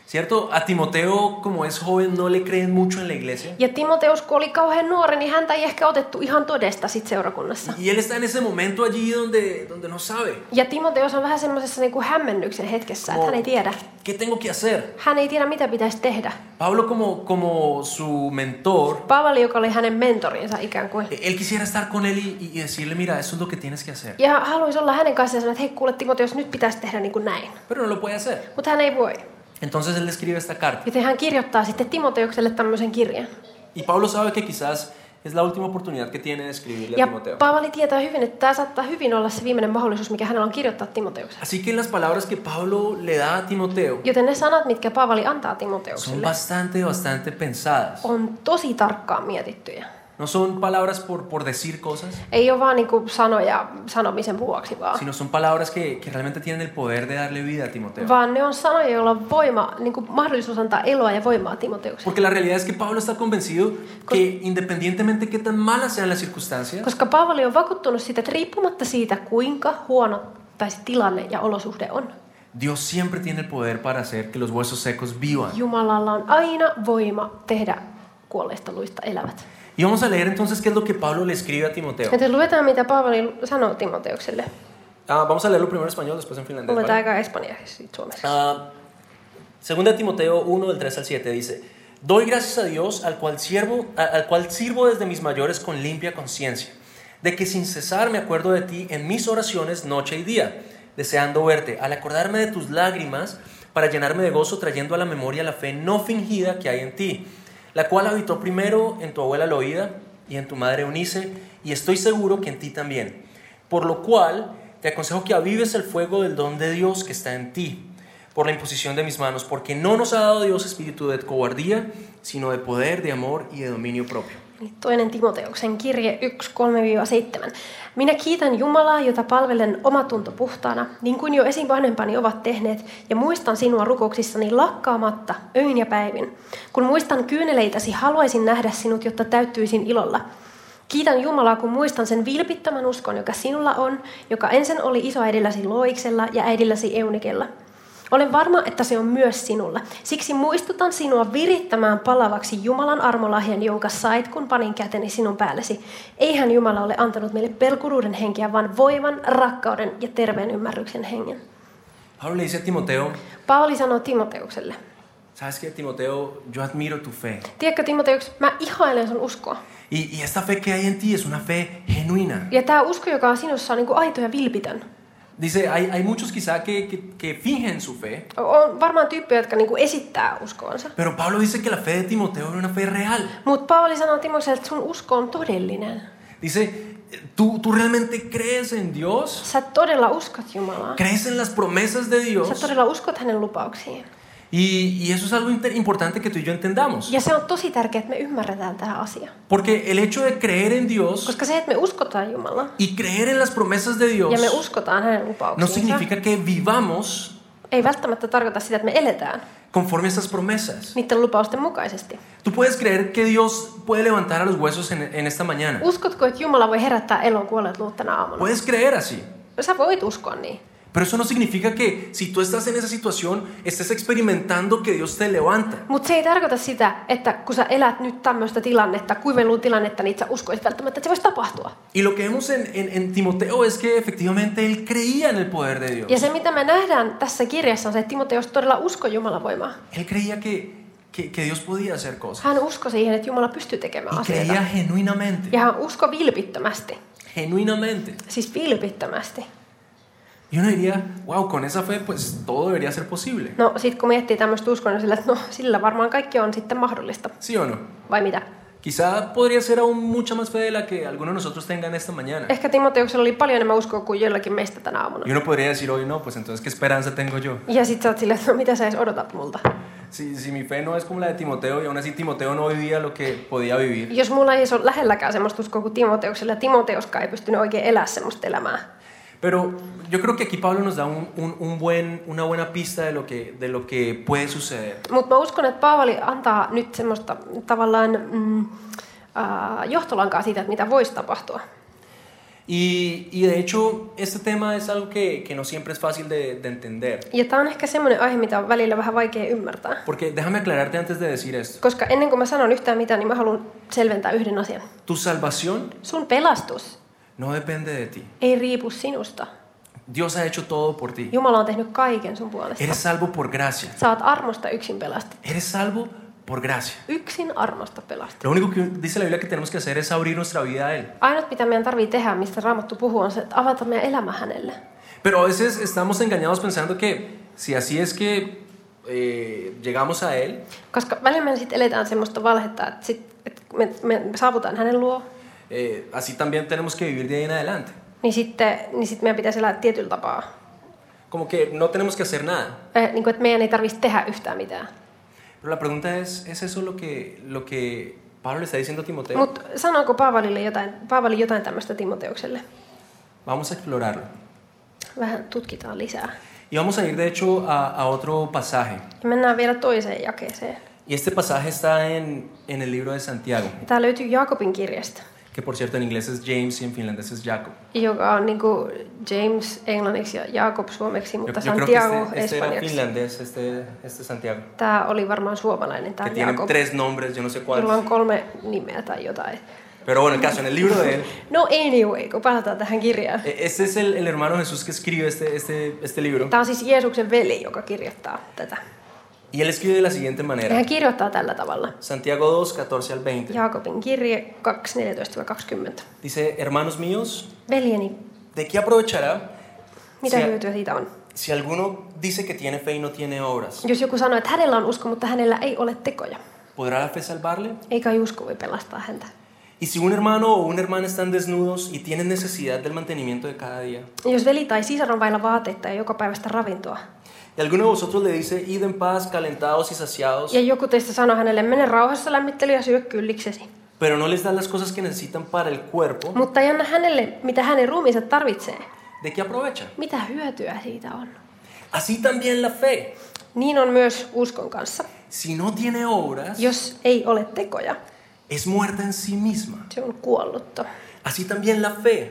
¿Cierto? A Timoteo, como es joven, no le creen mucho en la iglesia. Ja Timoteus, kun oli kauhean nuori, niin häntä ei ehkä otettu ihan todesta sit seurakunnassa. Y él está en ese momento allí donde, donde no sabe. Ja Timoteus on vähän semmoisessa niinku hämmennyksen hetkessä, että hän ei tiedä. ¿Qué tengo que hacer? Hän ei tiedä, mitä pitäisi tehdä. Pablo, como, como su mentor, Paavali, joka oli hänen mentorinsa ikään kuin. él quisiera estar con él y, y decirle, mira, eso es lo que tienes que hacer. Ja haluaisi olla hänen kanssaan ja sanoa, että hei kuule Timoteus, nyt pitäisi tehdä niin kuin näin. Pero no lo puede hacer. Mutta hän ei voi. Entonces él le escribe esta carta. Joten hän kirjoittaa sitten Timoteukselle tämmöisen kirjan. Y Pablo sabe que quizás es la última oportunidad que tiene de escribirle a Ja Timoteo. Paavali tietää hyvin, että tämä saattaa hyvin olla se viimeinen mahdollisuus, mikä hänellä on kirjoittaa Timoteukselle. Así que las palabras que Pablo le da a Timoteo Joten ne sanat, mitkä Paavali antaa son Timoteukselle, bastante, bastante pensadas. on tosi tarkkaan mietittyjä. No son palabras por, por decir cosas, Ei ole vaan niinku sanoja sanomisen vuoksi vaan. sino son palabras que, que realmente tienen el poder de darle vida a Timoteo. Vaan ne on sanoja, joilla on voima, niinku mahdollisuus antaa eloa ja voimaa Timoteukselle. Porque la realidad es que Pablo está convencido que independientemente qué tan malas sean las circunstancias, Koska Paavali on vakuuttunut siitä, että riippumatta siitä, kuinka huono tai se tilanne ja olosuhde on, Dios siempre tiene el poder para hacer que los huesos secos vivan. Jumalalla on aina voima tehdä kuolleista luista elävät. Y vamos a leer entonces qué es lo que Pablo le escribe a Timoteo. Joten luetaan, mitä Paavali sanoo Timoteukselle. Ah, vamos a leerlo primero en español, después en finlandés. Luetaan ¿vale? aikaa espanjaksi sitten suomeksi. Ah, segunda Timoteo uno del tres al siete dice: Doy gracias a Dios al cual, siervo, al cual sirvo desde mis mayores con limpia conciencia, de que sin cesar me acuerdo de ti en mis oraciones noche y día, deseando verte, al acordarme de tus lágrimas, para llenarme de gozo, trayendo a la memoria la fe no fingida que hay en ti, la cual habitó primero en tu abuela Loida y en tu madre Eunice, y estoy seguro que en ti también. Por lo cual te aconsejo que avives el fuego del don de Dios que está en ti, por la imposición de mis manos, porque no nos ha dado Dios espíritu de cobardía, sino de poder, de amor y de dominio propio. Toinen Timoteuksen kirje yksi kolme seitsemän. Minä kiitän Jumalaa, jota palvelen omatunto puhtaana, niin kuin jo esivanhempani ovat tehneet, ja muistan sinua rukouksissani lakkaamatta, öin ja päivin. Kun muistan kyyneleitäsi, haluaisin nähdä sinut, jotta täyttyisin ilolla. Kiitän Jumalaa, kun muistan sen vilpittömän uskon, joka sinulla on, joka ensin oli isoäidilläsi Loiksella ja äidilläsi Eunikella. Olen varma, että se on myös sinulla. Siksi muistutan sinua virittämään palavaksi Jumalan armolahjan, jonka sait, kun panin käteni sinun päällesi. Eihän Jumala ole antanut meille pelkuruuden henkeä, vaan voiman, rakkauden ja terveen ymmärryksen hengen. Pablo le dice a Timoteo: Paavali sanoo Timoteukselle. ¿Sabes qué, Timoteo? Yo admiro tu fe. Tiedätkö, Timoteuks, mä ihailen sun uskoa. Y, y esta fe que hay en ti es una fe genuina. Ja tämä usko, joka on sinussa, on niin kuin aito ja vilpitön. Dice, hay, hay muchos quizá que, que, que fingen su fe. On varmaan tyyppejä, jotka niin kuin esittää uskoonsa. Pero Pablo dice que la fe de Timoteo era una fe real. Mutta Paavali sanoo Timoteelle, että sun usko on todellinen. Dice, ¿tú, tú realmente crees en Dios? Sä todella uskot Jumalaa. ¿Crees en las promesas de Dios? Sä todella uskot hänen lupauksiin. Y, y eso es algo inter- importante que tú y yo entendamos. Ja se on tosi tärkeää, että me ymmärretään tämä asia. Porque el hecho de creer en Dios Koska se, että me uskotaan Jumalaa y creer en las promesas de Dios ja me uskotaan hänen no lupauksiinsa, significa que vivamos ei välttämättä tarkoita sitä, että me eletään conforme a estas promesas. niiden lupausten mukaisesti. Tú puedes creer que Dios puede levantar a los huesos en, en esta mañana. Uskotko, että Jumala voi herättää elon kuolleet luut tänä aamuna? Puedes creer así. Sä voit uskoa niin. Pero eso no significa que si tú estás en esa situación, estés experimentando que Dios te levanta. Mutta se ei tarkoita sitä, että kun sä elät nyt tämmöistä tilannetta, kuivelun tilannetta, niin sä uskoisit välttämättä, että se voisi tapahtua. Y lo que vemos en, en, en Timoteo es que efectivamente él creía en el poder de Dios. Ja se, mitä me nähdään tässä kirjassa, on se, että Timoteus todella uskoi Jumalan voimaa. Él creía que, que, que Dios podía hacer cosas. Hän uskoi siihen, että Jumala pystyy tekemään Y asioita. creía genuinamente. Ja hän uskoi vilpittömästi. Genuinamente. Siis vilpittömästi. Y uno diría, wow, con esa fe pues todo debería ser posible. No sit kun miettii tämmöistä uskoa, niin sillä, että no sillä varmaan kaikki on sitten mahdollista. ¿Sí o no? Vai mitä? Quizá podría ser aún mucha más fe de la que algunos de nosotros tengan esta mañana. Ehkä Timoteuksella oli paljon enemmän uskoa kuin joillakin meistä tänä aamuna. Y uno podría decir hoy, no, pues entonces, ¿qué esperanza tengo yo? Ja sit sä oot silleen, että no mitä sä edes odotat multa? Si, si mi fe no es como la de Timoteo y aún así Timoteo no vivía lo que podía vivir. Jos mulla ei ole lähelläkään semmoista uskoa kuin Timoteuksella, ja Timoteuskaan ei pystynyt oikein elämään semmoista elämää. Pero yo creo que aquí Pablo nos da un, un, un buen, una buena pista de lo que, de lo que puede suceder. Mutta mä uskon, että Paavali antaa nyt semmoista tavallaan mm, äh, johtolankaa siitä, että mitä voisi tapahtua. Y, y de hecho, este tema es algo que, que no siempre es fácil de, de entender. Ja tämä on ehkä semmoinen aihe, mitä on välillä vähän vaikea ymmärtää. Porque déjame aclararte antes de decir esto. Koska ennen kuin mä sanon yhtään mitään, niin mä haluan selventää yhden asian. Tu salvación Sun pelastus no depende de ti. ei riipu sinusta. Dios ha hecho todo por ti. Jumala on tehnyt kaiken sun puolesta. Eres salvo por gracia. Sä oot armosta yksin pelastettu. Eres salvo por gracia. Yksin armosta pelastettu. Lo único que dice la Biblia que tenemos que hacer es abrir nuestra vida a Él. Ainut mitä meidän tarvii tehdä, mistä Raamattu puhuu, on se, että avata meidän elämä hänelle. Pero a veces estamos engañados pensando que si así es que eh, llegamos a Él, Koska välillä me sitten eletään semmoista valhetta, että, sit, että me, me saavutaan hänen luo, eh, así también tenemos que vivir de ahí en adelante. niin sitten, niin sitten meidän pitäisi elää tietyllä tapaa. Como que no tenemos que hacer nada. Eh, niin kuin, että meidän ei tarvitsisi tehdä yhtään mitään. Pero la pregunta es, ¿es eso lo que, lo que Pablo le está diciendo a Timoteo? Mutta sanooko Paavalille jotain, Paavali jotain tämmöistä Timoteukselle? Vamos a explorarlo. Vähän tutkitaan lisää. Y vamos a ir de hecho a, a otro pasaje. Ja mennään vielä toiseen jakeeseen. Y este pasaje está en, en el libro de Santiago, Tämä löytyy Jaakobin kirjasta, que por cierto en inglés es James y en finlandés es Jacob. joka on niin kuin James englanniksi ja Jacob suomeksi, Yo, mutta yo creo Santiago que este, este era espanjaksi. finlandés, este, este Santiago, Tämä oli varmaan suomalainen, tämä que tiene Jakob, tres nombres, yo no sé jolla cuáles. on kolme nimeä tai jotain. Pero bueno, el caso, en el libro de él, No anyway, kun palataan tähän kirjaan. este es el, el hermano Jesús que escribe este, este, este libro. Tämä on siis Jeesuksen veli, joka kirjoittaa tätä. Y él escribe de la siguiente Ja manera. hän kirjoittaa tällä tavalla. Santiago dos, catorce al veinte. Jaakobin kirje kaksi, neljätoista kaksikymmentä. Dice, hermanos míos, Veljeni, ¿de qué aprovechará mitä si, hyötyä siitä on? si alguno dice que tiene fe y no tiene obras? Jos joku sanoo, että hänellä on usko, mutta hänellä ei ole tekoja, ¿Podrá la fe salvarle? eikä usko voi pelastaa häntä. Y si un hermano o una hermana están desnudos y tienen necesidad del mantenimiento de cada día, Jos veli tai sisar on vailla vaatteita ja joka päivästä ravintoa, y alguno de vosotros le dice, id en paz, calentados y saciados, ja joku teistä sanoo hänelle, mene rauhassa lämmittely ja syö kylliksesi, pero no les da las cosas que necesitan para el cuerpo, mutta ei anna hänelle, mitä hänen ruumiinsa tarvitsee, ¿de qué aprovecha? mitä hyötyä siitä on? Así también la fe, Niin on myös uskon kanssa. si no tiene obras, Jos ei ole tekoja, es muerta en sí misma. se on kuollutta. Así también la fe,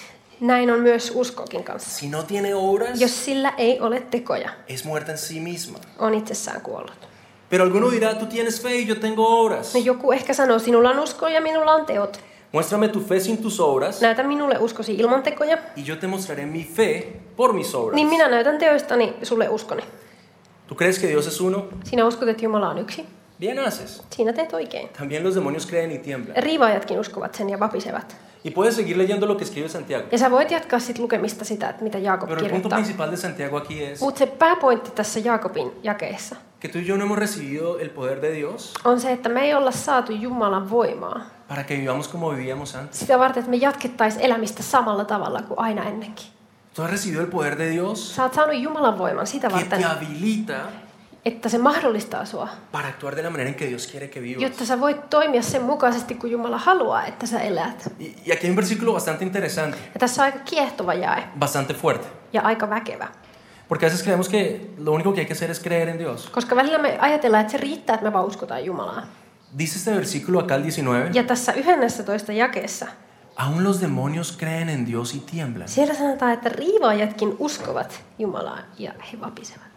Näin on myös uskokin kanssa. si no tiene obras, Jos sillä ei ole tekoja, es muerta en sí misma. on itsessään kuollut. Pero alguno dirá, tú tienes fe y yo tengo obras. No joku ehkä sanoo, sinulla on usko ja minulla on teot. Muéstrame tu fe sin tus obras Näytä minulle uskosi ilman tekoja, y yo te mostraré mi fe por mis obras. niin minä näytän teoistani sulle uskoni. ¿Tú crees que Dios es uno? Sinä uskot, että Jumala on yksi. Bien haces. Siinä teet oikein. También los demonios creen y tiemblan. Riivaajatkin uskovat sen ja vapisevat. Y puedes seguir leyendo lo que escribe Santiago. Ja sä voit jatkaa sit lukemista sitä, että mitä Jaakob Pero el punto kirjoittaa. principal de Santiago aquí es Mutta se pääpointti tässä Jaakobin jakeessa que tú y yo no hemos recibido el poder de Dios on se, että me ei olla saatu Jumalan voimaa para que vivamos como vivíamos antes. sitä varten, että me jatkettaisiin elämistä samalla tavalla kuin aina ennenkin. Tú has recibido el poder de Dios Sä oot saanut Jumalan voiman sitä que varten, te habilita että se mahdollistaa sua, para actuar de la manera en que Dios quiere que vivas. jotta sä voit toimia sen mukaisesti, kun Jumala haluaa, että sä elät. Y, y aquí hay un versículo bastante interesante, Ja tässä on aika kiehtova jae bastante fuerte. ja aika väkevä. Porque a veces creemos que lo único que hay que hacer es creer en Dios. Koska välillä me ajatellaan, että se riittää, että me vaan uskotaan Jumalaa. Dice este versículo acá, el diecinueve, Ja tässä yhdennentoista jakeessa aún los demonios creen en Dios y tiemblan. siellä sanotaan, että riivaajatkin uskovat Jumalaa ja he vapisevat.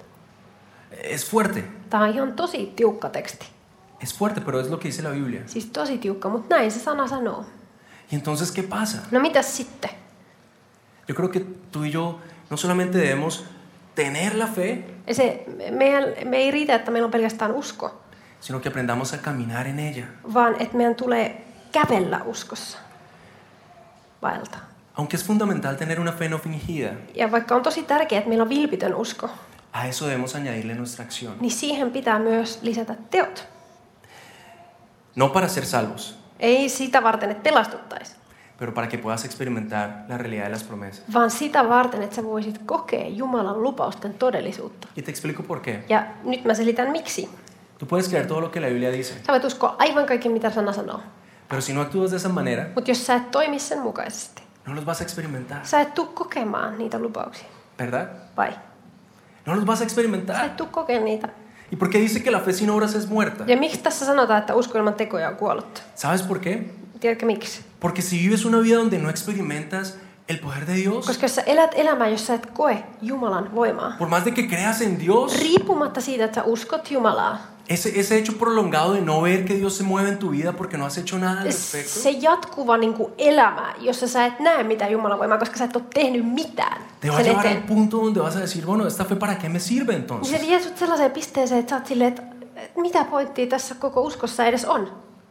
Es fuerte, Tämä on ihan tosi tiukka teksti. es fuerte, pero es lo que dice la Biblia. Siis tosi tiukka, mutta näin se sana sanoo. Y entonces, ¿qué pasa? No mitäs sitten? Yo creo que tú y yo no solamente debemos tener la fe, Se, meidän, me ei riitä, että meillä on pelkästään usko, sino que aprendamos a caminar en ella. vaan että meidän tulee kävellä uskossa. Vaeltaa. Aunque es fundamental tener una fe no fingida, Ja vaikka on tosi tärkeää, että meillä on vilpitön usko, a eso debemos añadirle nuestra acción. niin siihen pitää myös lisätä teot. No para ser salvos, Ei sitä varten, että pelastuttaisiin, pero para que puedas experimentar la realidad de las promesas. vaan sitä varten, että sä voisit kokea Jumalan lupausten todellisuutta. Y te explico por qué. Ja nyt mä selitän miksi. Tú puedes creer todo lo que la Biblia dice, Sä voit uskoa aivan kaikki, mitä sana sanoo. pero si no actúas de esa manera, Mutta jos sä et toimi sen mukaisesti, no los vas a experimentar, sä et tuu kokemaan niitä lupauksia. ¿verdad? Vai? No los vas a Sä experimentar. et tuu kokemaan niitä. ¿Y por qué dice que la fe sin obras es muerta? Ja miksi tässä sanotaan, että usko ilman tekoja on kuollutta? ¿Sabes por qué? Tiedätkö miksi? Porque si vives una vida donde no experimentas el poder de Dios, Koska jos sä elät elämää, jos sä et koe Jumalan voimaa, por más de que creas en Dios, riippumatta siitä, että sä uskot Jumalaa, ese, ese hecho prolongado de no ver que Dios se mueve en tu vida porque no has hecho nada al respecto, se jatkuva niin kuin elämä, jossa sä et näe mitään Jumalan voimaa, koska sä et ole tehnyt mitään te va a sen llevar al eteen, punto donde vas a decir, bueno, esta fe para qué me sirve niin entonces. se vie sut sellaiseen pisteeseen, että sä oot silleen, että mitä pointtia tässä koko uskossa edes on.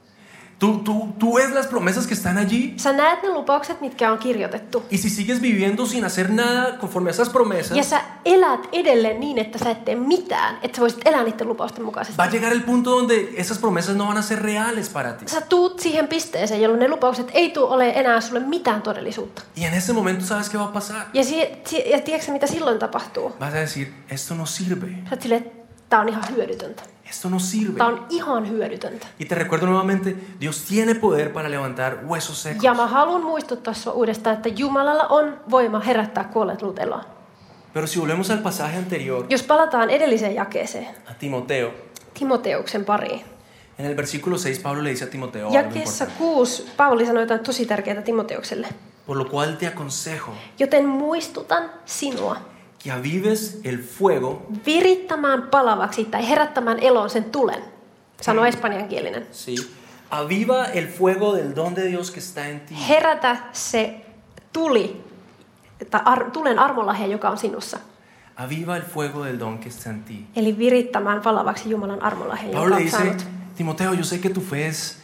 Tú, tú, tú ves las promesas que están allí Sä näet ne lupaukset, mitkä on kirjoitettu. y si sigues viviendo sin hacer nada conforme a esas promesas, Ja sä elät edelleen niin, että sä et tee mitään, että sä voisit elää niiden lupausten mukaisesti. va a llegar el punto donde esas promesas no van a ser reales para ti. Sä tuut siihen pisteeseen, jolloin ne lupaukset ei tule ole enää sulle mitään todellisuutta. Y en ese momento, ¿sabes qué va a pasar? Ja, si, si, ja tiedätkö mitä silloin tapahtuu? Vas a decir, esto no sirve, Sä oot silleen, että tää on ihan hyödytöntä. esto no sirve. Tää on ihan hyödytöntä. Y te recuerdo nuevamente, Dios tiene poder para levantar huesos secos. Ja mä haluan muistuttaa sua uudestaan, että Jumalalla on voima herättää kuolleet luut eloon. Pero si volvemos al pasaje anterior, Jos palataan edelliseen jakeeseen, a Timoteo, Timoteuksen pariin. en el versículo seis Pablo le dice a Timoteo algo Jakeessa importante. kuusi Paavali sanoi jotain tosi tärkeää Timoteukselle. Por lo cual te aconsejo Joten muistutan sinua que avives el fuego, virittämään palavaksi tai herättämään eloon sen tulen. Sanoo espanjankielinen. ¿sí? Aviva el fuego del don de Dios que está en ti. Herätä se tuli, tai ar, tulen armolahja, joka on sinussa. Aviva el fuego del don que está en ti. Eli virittämään palavaksi Jumalan armolahja, joka Pablo le on dice, saanut. Timoteo, yo sé que tu fe es,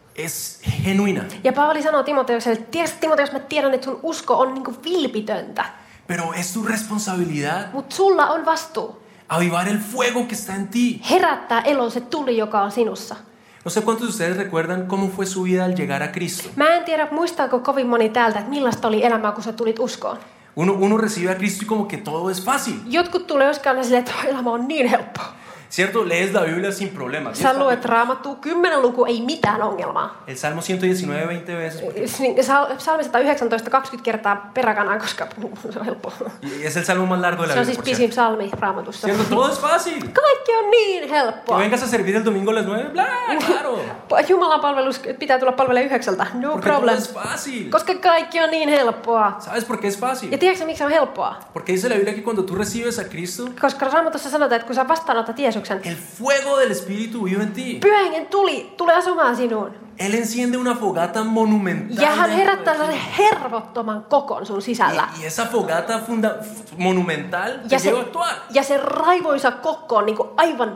es genuina, Ja Paavali sanoo Timoteukselle, että tiedätkö Timoteus, mä tiedän, että sun usko on niinku vilpitöntä, pero es tu responsabilidad mutta sulla on vastuu avivar el fuego que está en ti. herättää eloon se tuli, joka on sinussa. No sé cuántos de ustedes recuerdan cómo fue su vida al llegar a Cristo. Mä en tiedä, muistaako kovin moni täältä, että millaista oli elämää, kun sä tulit uskoon. Uno, uno recibe a Cristo y como que todo es fácil, Jotkut tulee joskaan silleen, että elämä on niin helppo. ¿cierto? Lees la Biblia sin problemas. Sä luet Raamattua, kymmenen luku, ei mitään ongelmaa. El Salmo ciento diecinueve veinte veces. Niin, Salmi sata yhdeksäntoista kaksikymmentä kertaa peräkanaa, koska se on helppo. Y es el salmo más largo de la Se on Biblia, siis por pisin cierto. salmi Raamatussa. ¿Cierto? Todo es fácil. Kaikki on niin Que helppoa. vengas a servir el domingo a las nueve, bla, claro. Jumalan palvelus pitää tulla palvelemaan yhdeksältä. No Porque todo problem. es fácil. Koska kaikki on niin helppoa. ¿Sabes por qué es fácil? Ja tiedätkö miksi se on helppoa? Porque dice la Biblia que cuando tú recibes a Cristo, Koska Raamatussa sanotaan, että kun sä vastaanotat Jeesuksen, el fuego del Espíritu vive en ti. Pyhä Hengen tuli, tulee asumaan sinuun. Él enciende una fogata monumental. Ja hän dentro herättää de ti. sellaisen hervottoman kokon sun sisällä. Y, y esa fogata funda, monumental te Ja se, lleva a actuar. ja se raivoisa kokko on niinku aivan...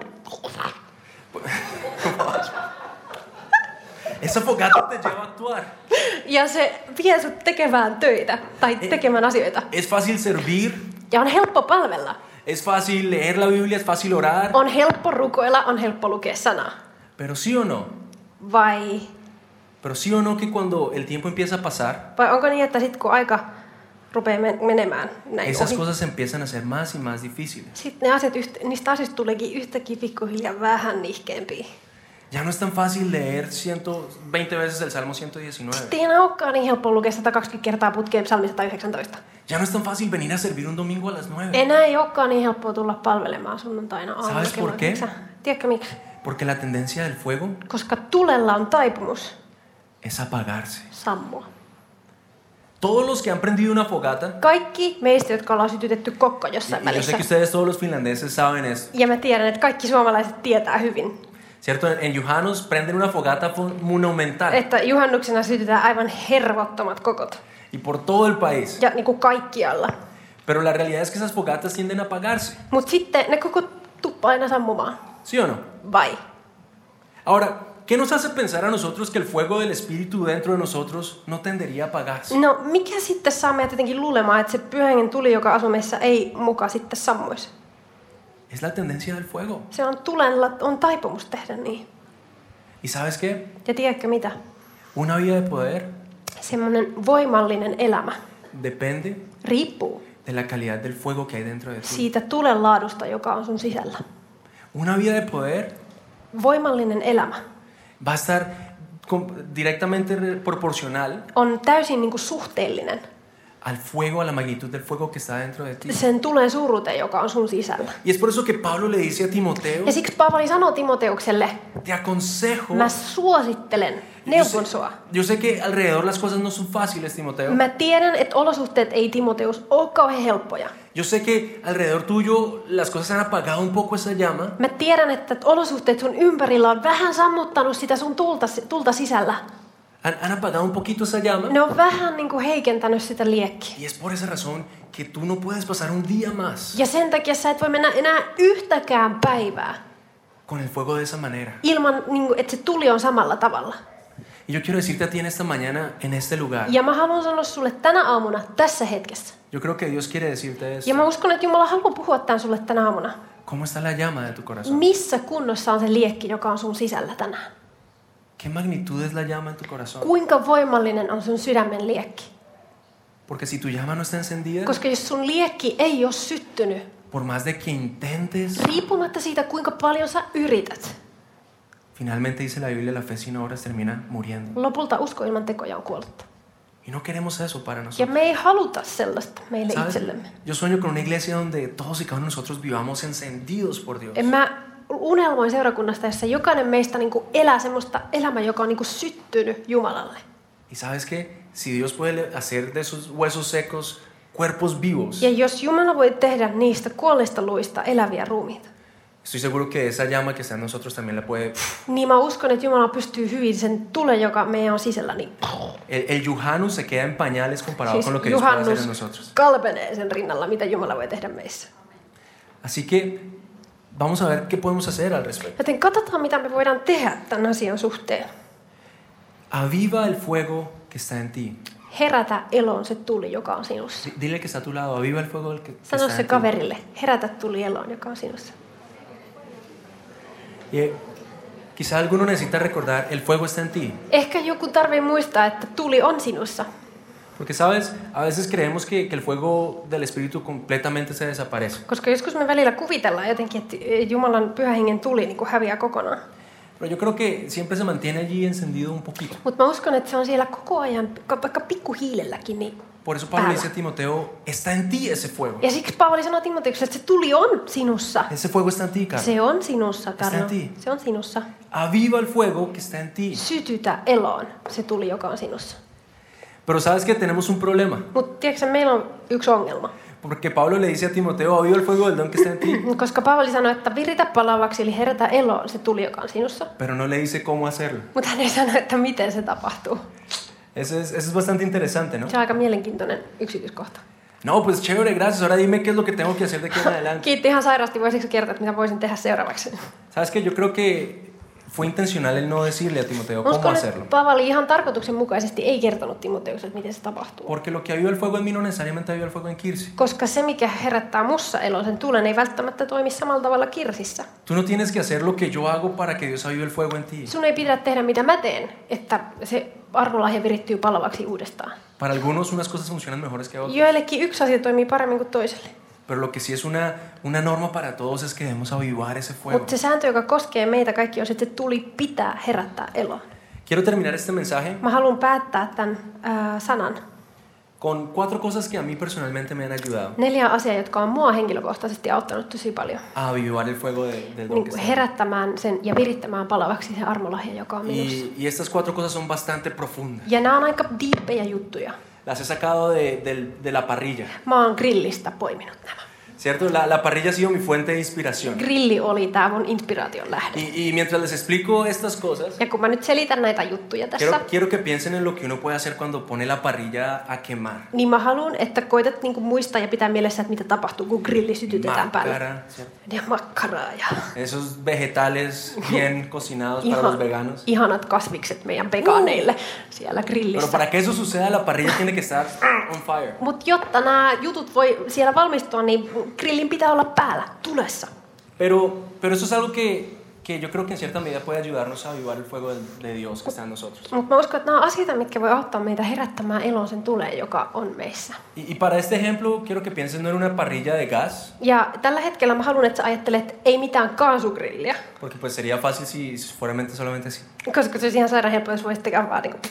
Esa fogata te lleva a actuar. Ja se vie sut tekemään töitä tai tekemään asioita. Es fácil servir, Ja on helppo palvella. es fácil leer la Biblia, es fácil orar. On helppo rukoilla, on helppo lukea sanaa. Pero sí o no, Vai, pero sí o no que cuando el tiempo empieza a pasar, vai onko niin, että sit kun aika rupeaa men- menemään näin esas ohi, cosas empiezan a ser más y más difíciles. sitten ne asiat, yht- niistä asioista tuleekin yhtäkkiä pikkuhiljaa vähän nihkeämpiä. Ya no es tan fácil leer ciento veinte veces el Salmo ciento diecinueve. Sitten ei enää olekaan niin helppoa lukea sata kaksikymmentä kertaa putkeen Psalmi sata yhdeksäntoista. Ya no es tan fácil venir a servir un domingo a las nueve. Enää ei olekaan niin helppoa tulla palvelemaan sunnuntaina aamulla. ¿Sabes por kello qué? yhdeksän. Tiedätkö miksi? Porque la tendencia del fuego Koska tulella on taipumus es apagarse. sammua. Todos los que han prendido una fogata, Kaikki meistä, jotka ollaan sytytetty kokko jossain y yo sé välissä. que ustedes todos los finlandeses saben esto, Ja mä tiedän, että kaikki suomalaiset tietää hyvin, ¿cierto? En, en Jujanos prenden una fogata fun- monumental että juhannuksena sytytään aivan hervottomat kokot. y por todo el país. Ja niin kuin kaikkialla. Pero la realidad es que esas fogatas tienden a apagarse, Mutta sitten ne koko tuppaa aina sammumaan. ¿sí o no? Vai? Ahora, ¿qué nos hace pensar a nosotros que el fuego del Espíritu dentro de nosotros no tendería a apagarse? No mikä sitten saa meidät jotenkin luulemaan, että se Pyhän Hengen tuli, joka asuu meissä, ei muka sitten sammuisi? Es la tendencia del fuego. Se on tulella, on taipumus tehdä niin. ¿Y sabes qué? Ja tiedätkö mitä? Una vida de poder Semmoinen voimallinen elämä depende riippuu de la calidad del fuego que hay dentro de ti. siitä tulen laadusta, joka on sun sisällä. Una vida de poder Voimallinen elämä va a estar com- directamente re- proporcional on täysin niin kuin suhteellinen al fuego, a la magnitud del fuego que está dentro de ti. sen tulen suuruuteen, joka on sun sisällä. Y es por eso que Pablo le dice a Timoteo, Ja siksi Paavali sanoo Timoteukselle, te aconsejo. mä suosittelen, Yo neuvon sé, sua. yo sé que alrededor las cosas no son fáciles, Timoteo. Mä tiedän, että olosuhteet ei Timoteus ole kauhean helppoja. Yo sé que alrededor tuyo las cosas han apagado un poco esa llama. Mä tiedän, että olosuhteet sun ympärillä on vähän sammuttanut sitä sun tulta, tulta sisällä. Han, han apagado un poquito esa llama. Ne on vähän niin kuin heikentänyt sitä liekkiä. Y es por esa razón que tú no puedes pasar un día más Ja sen takia sä et voi mennä enää yhtäkään päivää con el fuego de esa manera. ilman, niin kuin, että se tuli on samalla tavalla. Y yo quiero decirte a ti en esta mañana, en este lugar, Ja mä haluan sanoa sulle tänä aamuna, tässä hetkessä. yo creo que Dios quiere decirte esto. Ja mä uskon, että Jumala haluaa puhua tämän sulle tänä aamuna. ¿Cómo está la llama de tu corazón? Missä kunnossa on se liekki, joka on sun sisällä tänään? ¿Qué magnitud es la llama en tu corazón? Kuinka voimallinen on sun sydämen liekki? Porque si tu llama no está encendida, Koska jos sun liekki ei ole syttynyt, por más de que intentes, riippumatta siitä, kuinka paljon sä yrität, finalmente dice la Biblia, la fe sin obras termina muriendo. lopulta usko ilman tekoja on kuollutta. Y no queremos eso para Ja nosotros. me ei haluta sellaista meille ¿Sabes? itsellemme. Yo sueño con una iglesia donde todos y cada uno de nosotros vivamos encendidos por Dios. En mä unelmoin seurakunnasta, jossa jokainen meistä niin kuin elää semmoista elämää, joka on niin kuin syttynyt Jumalalle. Y sabes que si Dios puede hacer de esos huesos secos cuerpos vivos, Ja jos Jumala voi tehdä niistä kuolleista luista eläviä ruumiita, estoy seguro que esa llama que está en nosotros también la puede. niin mä uskon, että Jumala pystyy hyvin sen tulen, joka meidän on sisällä, niin El, el Yuhanus se queda en pañales comparado siis con lo que Dios puede hacer en juhannus nosotros. kalpenee sen rinnalla, mitä Jumala voi tehdä meissä. Así que vamos a ver qué podemos hacer al respecto. Joten katsotaan, mitä me voidaan tehdä tämän asian suhteen. Aviva el fuego que está en ti. Herätä eloon se tuli, joka on sinussa. Di- Dile que está a tu lado, aviva el fuego que, que Sano está se en ti. kaverille, herätä tuli eloon, joka on sinussa. Y quizá alguno necesita recordar, el fuego está en ti. Ehkä joku tarvii muistaa, että tuli on sinussa. Porque sabes, a veces creemos que, que el fuego del Espíritu completamente se desaparece. Koska joskus me välillä kuvitellaan jotenkin, että Jumalan pyhän hengen tuli niin kuin häviää kokonaan. Pero yo creo que siempre se mantiene allí encendido un poquito. Mutta mä uskon, että se on siellä koko ajan, vaikka pikkuhiilelläkin. Niin Por eso Pablo päällä. dice a Timoteo, está en ti ese fuego. Ja siksi Paavali sanoo Timoteukselle, että se tuli on sinussa. Ese fuego está en ti, Carlos. Se on sinussa, Karno. en ti. Se on sinussa. Aviva el fuego que está en ti. Sytytä eloon se tuli, joka on sinussa. Pero sabes que tenemos un problema. Mutta tiedätkö, meillä on yksi ongelma. Porque Pablo le dice a Timoteo, aviva el fuego del don que está en ti. Koska Paavali sanoi, että viritä palavaksi, eli herätä eloon se tuli, joka on sinussa. Pero no le dice cómo hacerlo. Mutta hän ei sano, että miten se tapahtuu. Eso es, eso es bastante interesante, ¿no? Se on aika mielenkiintoinen yksityiskohta. No, pues chévere, gracias. Ahora dime qué es lo que tengo que hacer de aquí en adelante. Kiitti ihan sairaasti. Voisitko kertoa, että mitä voisin tehdä seuraavaksi? Sabes que yo creo que fue intencional el no decirle a Timoteo cómo Uskon, hacerlo. että Paavali ihan tarkoituksenmukaisesti ei kertonut Timoteukselle, miten se tapahtuu. Porque lo que aviva el fuego en mí no necesariamente aviva el fuego en Kirsi. Koska se, mikä herättää mussa eloon sen tulen, ei välttämättä toimi samalla tavalla Kirsissä. Tú no tienes que hacer lo que yo hago para que Dios avive el fuego en ti. Sun ei pidä tehdä, mitä mä teen, että se armolahja virittyy palavaksi uudestaan. Para algunos unas cosas funcionan mejores que otras. Joillekin yksi asia toimii paremmin kuin toiselle. Pero lo que sí es una, una norma para todos es que debemos avivar ese fuego. Mutta se sääntö, joka koskee meitä kaikki, on, että se tuli pitää herättää eloon. Quiero terminar este mensaje Mä haluan päättää tämän ää, sanan. con cuatro cosas que a mí personalmente me han ayudado Neljä asiaa, jotka on mua henkilökohtaisesti auttanut tosi paljon. a avivar el fuego de, del don que Niin está en herättämään sen ja virittämään palavaksi se armolahja, joka on mí. minussa. Y, y estas cuatro cosas son bastante profundas. Ja nämä on aika diippejä juttuja. Las he sacado de, del- de la parrilla. Mä oon grillistä poiminut nämä. ¿Cierto? La, la parrilla ha sido mi fuente de inspiración. Grilli oli tää mun inspiraation lähde. Y, y mientras les explico estas cosas, Ja kun mä nyt selitän näitä juttuja tässä, quiero, quiero que piensen en lo que uno puede hacer cuando pone la parrilla a quemar. niin mä haluan, että koitat niinku muistaa ja pitää mielessä, että mitä tapahtuu, kun grilli sytytetään päälle. Macara, ¿cierto? Ja makkaraa ja Esos vegetales bien cocinados para los veganos. ihanat kasvikset meidän vegaaneille siellä Pero grillissä. para que eso suceda, la parrilla tiene que estar on fire. Mutta jotta nämä jutut voi siellä valmistua, niin grillin pitää olla päällä, tulessa. Pero, pero eso es algo que, que yo creo que en cierta medida puede ayudarnos a avivar el fuego de, de Dios que está en nosotros. Mutta mä uskon, että nämä on asioita, mitkä voi auttaa meitä herättämään elon sen tuleen, joka on meissä. Y, y para este ejemplo, quiero que piensen no en una parrilla de gas, Ja tällä hetkellä mä haluan, että sä ajattelet, ei mitään kaasugrilliä. porque pues sería fácil si fuera mente solamente así, Koska se olisi ihan sairaan helppo, jos voisit tehdä vaan niin kuin,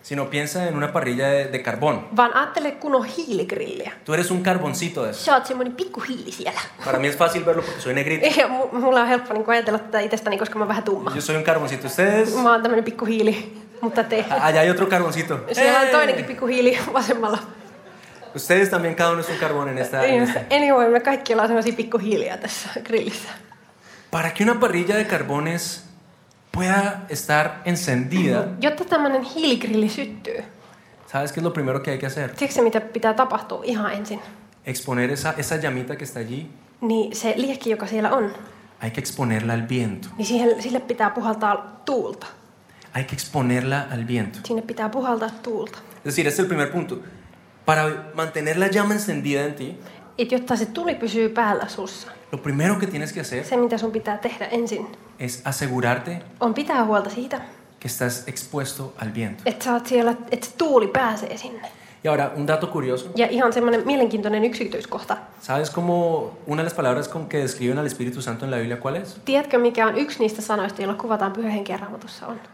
sino piensa en una parrilla de, de carbón. Vaan ajattele kunnon hiiligrilliä. Tú eres un carboncito de eso. Sä oot semmoinen pikku hiili siellä. Para mí es fácil verlo porque soy negrito. Ja mu- mulla on helppo niin ajatella tätä itsestäni, koska mä oon vähän tumma. Yo soy un carboncito. Ustedes... Mä oon tämmönen pikku hiili, mutta te. Allá hay otro carboncito. Siellä on ¡Eh! toinenkin pikku hiili vasemmalla. Ustedes también, cada uno es un carbón en esta, en esta. Anyway, me kaikki ollaan semmosia pikku hiiliä tässä grillissä. Para que una parrilla de carbones pueda estar encendida, Jotta tämmönen hiiligrilli syttyy, ¿sabes qué es lo primero que hay que hacer? tiedätkö mitä pitää tapahtua ihan ensin? Exponer esa, esa llamita que está allí, Niin se liekki, joka siellä on, hay que exponerla al viento. niin siihen, sille pitää puhaltaa tuulta. Hay que exponerla al viento. Sinne pitää puhaltaa tuulta. Es decir, este es el primer punto. Para mantener la llama encendida en ti, Et jotta se tuli pysyy päällä sussa, lo primero que tienes que hacer se mitä sun pitää tehdä ensin, es asegurarte on pitää huolta siitä, que estás expuesto al viento. että sä oot siellä, että se tuuli pääsee sinne. Y ahora, un dato curioso. Ja ihan semmoinen mielenkiintoinen yksityiskohta. ¿Sabes cómo una de las palabras con que describen al Espíritu Santo en la Biblia cuál es? Tiedätkö, mikä on yksi niistä sanoista, joilla kuvataan Pyhän Henken Raamatussa on?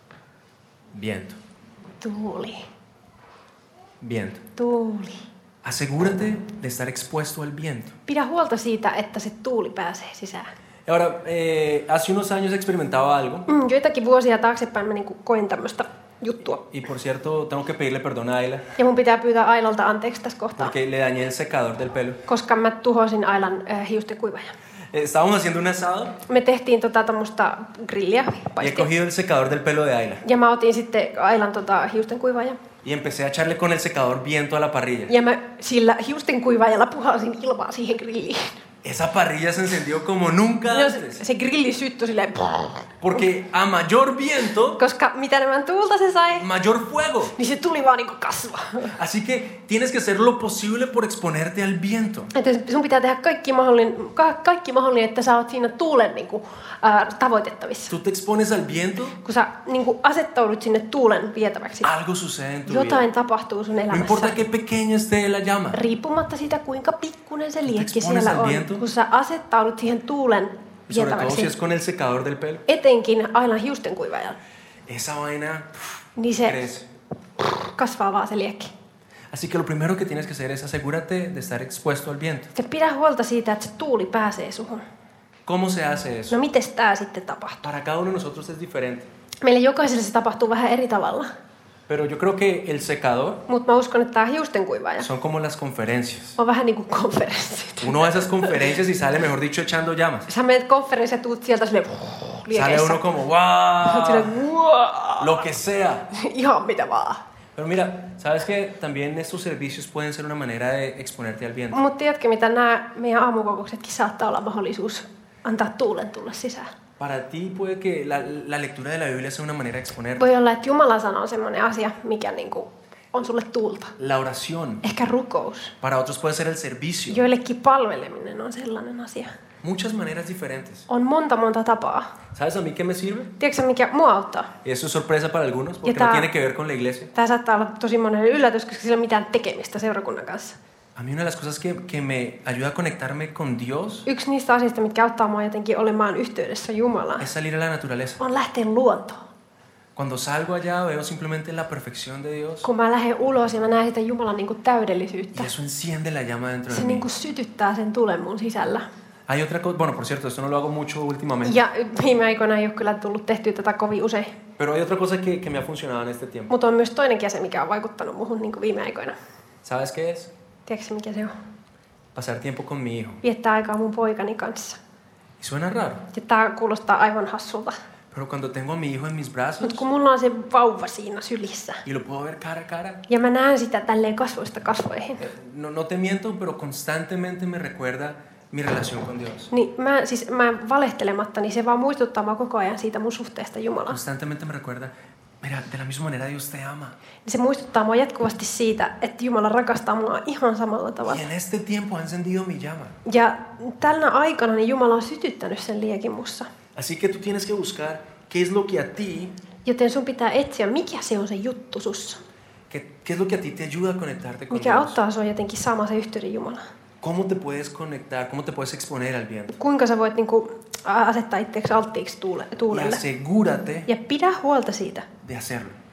Viento. Tuuli. Viento. Tuuli. Asegúrate de estar expuesto al viento. Pidä huolta siitä, että se tuuli pääsee sisään. Y ahora, eh, hace unos años experimentaba algo. Mm, joitakin vuosia taaksepäin mä niinku koin tämmöistä juttua. Y por cierto, tengo que pedirle perdón a Ayla Ja mun pitää pyytää Ailalta anteeksi tässä kohtaa, porque le dañé el secador del pelo. koska mä tuhosin Ailan äh, hiusten kuivajan. Eh, Estábamos haciendo un asado Me tehtiin tota tommoista grilliä, y he paistia. cogido el secador del pelo de Ayla Ja mä otin sitten Ailan tota hiusten kuivajan. y empecé a echarle con el secador viento a la parrilla. Ja mä sillä hiusten kuivaajalla puhalsin ilmaa siihen grilliin. Esa parrilla se encendió como nunca Ja se, antes. se grilli syttyi silleen, Porque a mayor viento, koska mitä enemmän tuulta se sai, mayor fuego. niin se tuli vaan niinku kasvaa. Así que tienes que hacer lo posible por exponerte al viento. Että sun pitää tehdä kaikki mahdollinen, ka, kaikki mahdollinen, että sä oot siinä tuulen niinku, ää, tavoitettavissa. Tú te expones al viento, Kun sä niinku asettaudut sinne tuulen vietäväksi, algo sucede en tu vida. jotain tapahtuu sun No elämässä. importa qué pequeña esté la llama. Riippumatta siitä, kuinka pikkunen se liekki expones siellä al on. viento. Kun sä asettaudut siihen tuulen Y sobre todo si vietäväksi, es con el secador del pelo. etenkin Ailan hiusten kuivaajalla, Esa vaina pff, niin se crece. kasvaa vaan se liekki. Así que lo primero que tienes que hacer es asegúrate de estar expuesto al viento. Ja pidä huolta siitä, että se tuuli pääsee suhun. ¿Cómo se hace eso? No mites tää sitten tapahtuu? Para cada uno de nosotros es diferente. Meille jokaiselle se tapahtuu vähän eri tavalla. Pero yo creo que el secador Mutta mä uskon, että tää hiusten kuivaaja son como las conferencias. on vähän niin kuin konferenssit. Uno va a esas conferencias y sale, mejor dicho, echando llamas. Sä menet konferenssiin ja tuut sieltä silleen Sale liekeissä. uno como, Oot silleen, wow, "Wow." lo que sea. Ihan mitä vaan. Pero mira, ¿sabes que también estos servicios pueden ser una manera de exponerte al viento? Mutta tiedätkö mitä, nämä meidän aamukokouksetkin saattaa olla mahdollisuus antaa tuulen tulla sisään. Para ti puede que la, la lectura de la Biblia sea una manera de exponerte. Voi olla, että Jumalan sana on semmoinen asia, mikä niinku on sulle tuulta. La oración. Ehkä rukous. Para otros puede ser el servicio. Joillekin palveleminen on sellainen asia. Muchas maneras diferentes. On monta monta tapaa. ¿Sabes a mí qué me sirve? Tiedätkö mikä mua auttaa? Y eso es sorpresa para algunos porque ta- no tiene que ver con la iglesia. Tämä saattaa olla tosi monelle yllätys, koska sillä ei ole mitään tekemistä seurakunnan kanssa. A mí una de las cosas que, que me ayuda a conectarme con Dios Yksi niistä asioista, mitkä auttaa mua jotenkin olemaan yhteydessä Jumalaan, es salir a la naturaleza. on lähteä luontoon. Cuando salgo allá veo simplemente la perfección de Dios Kun mä lähden ulos ja mä näen sitä Jumalan niinku täydellisyyttä, y eso enciende la llama dentro se de mí. niinku sytyttää sen tulen mun sisällä. Hay otra cosa, bueno, por cierto, esto no lo hago mucho últimamente, Ja viime aikoina ei ole kyllä tullut tehtyä tätä kovin usein. pero hay otra cosa que, que me ha funcionado en este tiempo. Mutta on myös toinenkin asia, mikä on vaikuttanut muhun niinku viime aikoina. ¿Sabes qué es? Tiedätkö mikä se on? Pasar tiempo con mi hijo. Viettää aikaa mun poikani kanssa. Y suena raro, Ja tää kuulostaa aivan hassulta. pero cuando tengo a mi hijo en mis brazos Mutta kun mulla on se vauva siinä sylissä, y lo puedo ver cara a cara, ja mä näen sitä tälleen kasvoista kasvoihin, eh, no, no te miento, pero constantemente me recuerda mi relación con Dios. niin mä, siis mä valehtelematta, niin se vaan muistuttaa mua koko ajan siitä mun suhteesta Jumalaan. Constantemente me recuerda, mira, de la misma manera Dios te ama. Niin se muistuttaa mua jatkuvasti siitä, että Jumala rakastaa mua ihan samalla tavalla. Y en este tiempo ha encendido mi llama. Ja tällä aikana niin Jumala on sytyttänyt sen liekin mussa. Así que tú tienes que buscar qué es lo que a ti, Joten sun pitää etsiä, mikä se on se juttu sussa. qué, qué es lo que a ti te ayuda a conectarte con Mikä Dios. auttaa sua jotenkin saamaan se yhteyden Jumalaan. ¿Cómo te puedes conectar? ¿Cómo te puedes exponer al viento? Kuinka sä voit niinku asettaa itseäsi alttiiksi tuule, Y tuulelle. asegúrate Ja pidä huolta siitä, de hacerlo.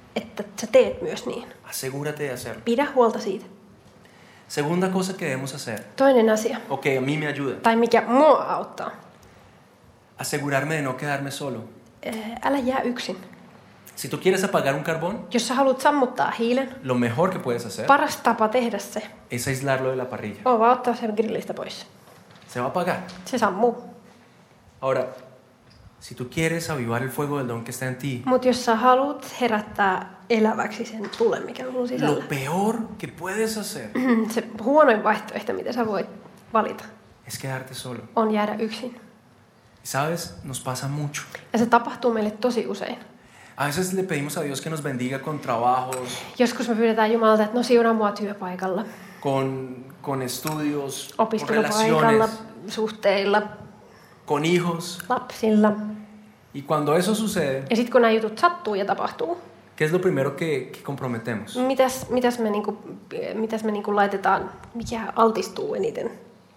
että sä teet myös niin. Asegúrate de hacerlo. Pidä huolta siitä. Segunda cosa que debemos hacer. Toinen asia, Ok, a mí me ayuda. tai mikä mua auttaa. Asegurarme de no quedarme solo. Älä jää yksin. Si tú quieres apagar un carbón, Jos sä haluat sammuttaa hiilen, lo mejor que puedes hacer paras tapa tehdä se es aislarlo de la parrilla. on vaan ottaa sen grillistä pois. Se va a apagar. Se sammuu. Ahora, si tú quieres avivar el fuego del don que está en ti, Mutta jos sä haluat herättää eläväksi sen tulen, mikä on sun lo sisällä, peor que puedes hacer se huonoin vaihtoehto, mitä sä voit valita, es quedarte solo. on jäädä yksin. ¿Sabes? Nos pasa mucho. Ja se tapahtuu meille tosi usein. A veces le pedimos a Dios que nos bendiga con trabajos, Joskus me pyydetään Jumalalta, että no siunaa mua työpaikalla, con, con estudios, con opiskelupaikalla, relaciones, suhteilla, con hijos. lapsilla. Y cuando eso sucede, Ja sitten kun nämä jutut sattuu ja tapahtuu, ¿qué es lo primero que, que comprometemos? mitäs, mitäs me, niinku, mitäs me niinku laitetaan, mikä altistuu eniten?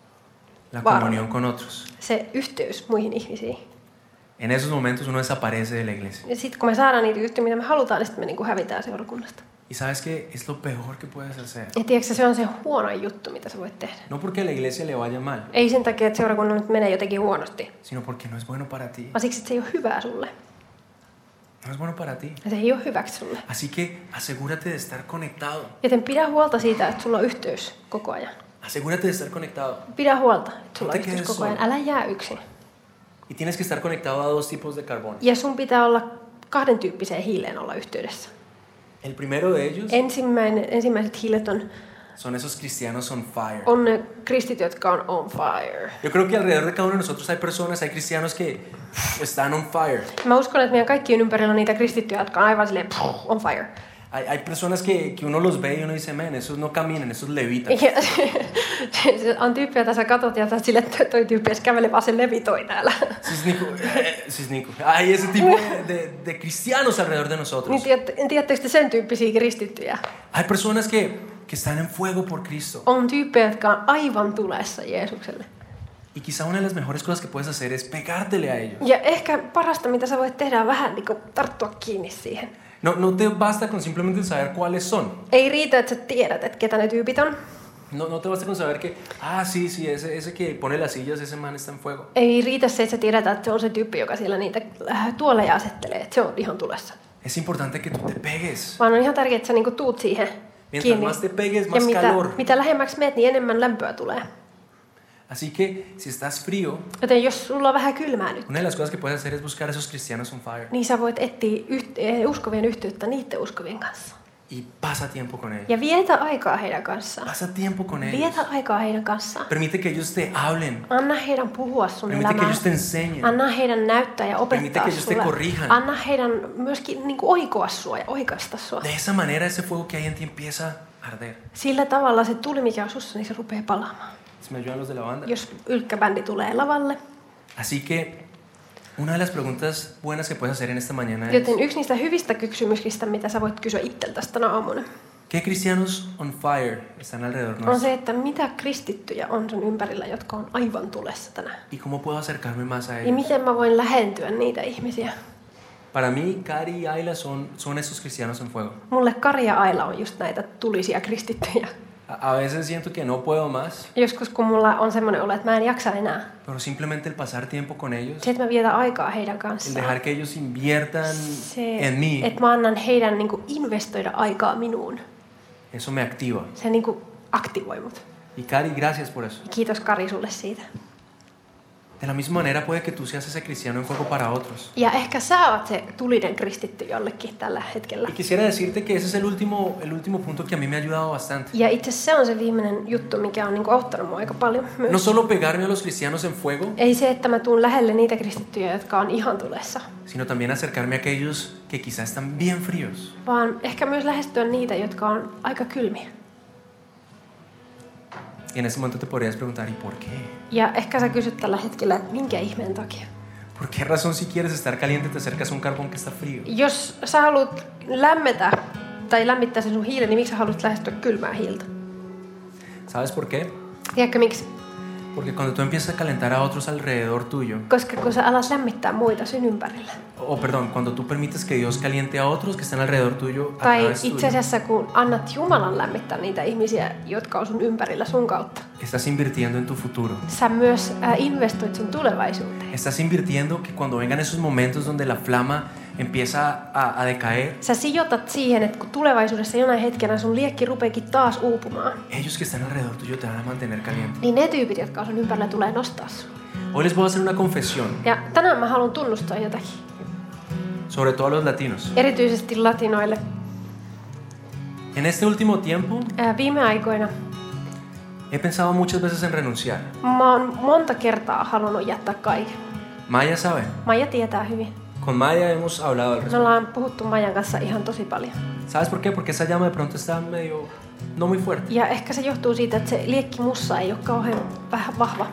La Varma. comunión con otros. Se yhteys muihin ihmisiin. En esos momentos uno desaparece de la iglesia. Ja sitten kun me saadaan niitä yhtyä, mitä me halutaan, niin sitten me niinku hävitään seurakunnasta. Y sabes que es lo peor que puedes hacer. Ja tiedätkö, se on se huono juttu, mitä sä voit tehdä. No porque a la iglesia le vaya mal, Ei sen takia, että seurakunnan nyt menee jotenkin huonosti, sino porque no es bueno para ti. vaan siksi, että se ei ole hyvää sulle. No es bueno para ti. Ja se ei ole hyväksi sulle. Así que asegúrate de estar conectado. Joten pidä huolta siitä, että sulla on yhteys koko ajan. Asegúrate de estar conectado. Pidä huolta, että sulla No on te yhteys quedes koko ajan. solo. Älä jää yksin. Y tienes que estar conectado a dos tipos de carbón. Ja sun pitää olla kahden tyyppiseen hiileen olla yhteydessä. El primero de ellos Ensimmäinen, ensimmäiset hiilet on, son esos cristianos on fire. on ne kristit, jotka on on fire. Yo creo que alrededor de cada uno de nosotros hay personas, hay cristianos que están on fire. Mä uskon, että meidän kaikkien ympärillä on niitä kristittyjä, jotka on aivan silleen on fire. Hay, hay personas que, que uno los ve y uno dice, men, esos no caminan, esos levitan. Ja se on tyyppiä, jota sä katot ja sä sille, että toi tyyppi edes kävelee, vaan se levitoi täällä. Sis Nico, eh, sis Nico. Hay ese tipo de, de, de cristianos alrededor de nosotros. Niin tiedät- tiedättekö te sen tyyppisiä kristittyjä? Hay personas que, que están en fuego por Cristo. On tyyppejä, jotka on aivan tulessa Jeesukselle. Y quizá una de las mejores cosas que puedes hacer es pegártele a ellos. Ja ehkä parasta, mitä sä voit tehdä, on vähän niin kuin tarttua kiinni siihen. No, no te basta con simplemente saber cuáles son. Ei riitä, että sä tiedät, että ketä ne tyypit on. No, no te basta con saber que, ah, sí, sí, ese, ese que pone las sillas, ese man está en fuego. Ei riitä se, että sä tiedät, että se on se tyyppi, joka siellä niitä äh, tuoleja asettelee, että se on ihan tulessa. Es importante que tú te pegues. Vaan on ihan tärkeää, että sä niinku tuut siihen Mientras kiinni. más te pegues, Ja más mitä, calor. mitä lähemmäksi meet, niin enemmän lämpöä tulee. Así que si estás frío, Joten jos sulla on vähän kylmää nyt, una de las cosas que puedes hacer es buscar a esos cristianos on fire. niin sä voit etsiä yht- eh, uskovien yhteyttä niiden uskovien kanssa. Y pasa tiempo con ellos. Ja vietä aikaa heidän kanssaan. Pasa tiempo con ellos. Vietä aikaa heidän kanssaan. Permite que ellos te hablen. Anna heidän puhua sun Permite que elämään. ellos te enseñen. Anna heidän näyttää ja Permite opettaa que ellos te sulle. corrijan. Anna heidän myöskin niin kuin oikoa sua ja oikaista sua. De esa manera ese fuego que hay en ti empieza a arder. Sillä tavalla se tuli, mikä on sussa, niin se rupeaa palaamaan. ¿Se me ayudan los de la banda? Jos ylkkäbändi tulee lavalle. Así que una de las preguntas buenas que puedes hacer en esta mañana es, Joten yksi niistä hyvistä kysymyksistä, mitä sä voit kysyä itseltäsi tänä aamuna, ¿qué cristianos on fire están alrededor on nuestro? se, että mitä kristittyjä on sun ympärillä, jotka on aivan tulessa tänään. ¿Y cómo puedo acercarme más a Ja ellos? miten mä voin lähentyä niitä ihmisiä. Para mí, Cari y Ayla son, son esos cristianos en fuego. Mulle Kari ja Aila on just näitä tulisia kristittyjä. A, a veces siento que no puedo más, Joskus kun mulla on semmoinen olo, että mä en jaksa enää. pero simplemente el pasar tiempo con ellos, Se, että mä vietän aikaa heidän el kanssaan. dejar que ellos inviertan Se, en mí, että mä annan heidän niin kuin investoida aikaa minuun. eso me activa. Se niin kuin aktivoi mut. Y Cari, gracias por eso. Kiitos Kari sulle siitä. De la misma manera puede que tú seas ese cristiano en fuego para otros. Ja ehkä sä oot se tulinen kristitty jollekin tällä hetkellä. Y quisiera decirte que ese es el último, el último punto que a mí me ha ayudado bastante. Ja itse asiassa se on se viimeinen juttu, mikä on niin kuin auttanut mua aika paljon myös. No solo pegarme a los cristianos en fuego, Ei se, että mä tuun lähelle niitä kristittyjä, jotka on ihan tulessa, sino también acercarme a aquellos que quizás están bien fríos. vaan ehkä myös lähestyä niitä, jotka on aika kylmiä. Y en ese momento te podrías preguntar, ¿y por qué? Ja ehkä sä kysyt tällä hetkellä, että minkä ihmeen takia. ¿Por qué razón si quieres estar caliente te acercas a un carbón que está frío? Jos sä haluat lämmetä tai lämmittää sen sun hiilen, niin miksi sä haluat lähestyä kylmää hiiltä? ¿Sabes por qué? Tiedätkö miksi? Porque cuando tú empiezas a calentar a otros alrededor tuyo, Koska kun sä alat lämmittää muita sun ympärillä. o perdón, cuando tú permites que Dios caliente a otros que están alrededor tuyo a Tai través itse tuyo, asiassa kun annat Jumalan lämmittää niitä ihmisiä, jotka on sun ympärillä sun kautta. estás invirtiendo en tu futuro. Sä myös äh, investoit sun tulevaisuuteen. Estás invirtiendo que cuando vengan esos momentos donde la flama empieza a, a decaer, Sä sijoitat siihen, että kun tulevaisuudessa jonain hetkenä sun liekki rupeekin taas uupumaan, ellos que están alrededor tuyo te van a mantener caliente. niin ne tyypit, jotka on sun ympärillä, tulee nostaa sua. Hoy les voy a hacer una confesión, Ja tänään mä haluan tunnustaa jotakin. sobre todo a los latinos. Erityisesti latinoille. En este último tiempo Ää, viime aikoina he pensado muchas veces en renunciar. mä oon monta kertaa halunnut jättää kaiken. Maya sabe, Maija tietää hyvin. con Maya hemos hablado al Me respecto. ollaan puhuttu Maijan kanssa ihan tosi paljon. ¿Sabes por qué? Porque esa llama de pronto está medio, no muy fuerte. Ja ehkä se johtuu siitä, että se liekki mussa ei ole kauhean vähän vahva.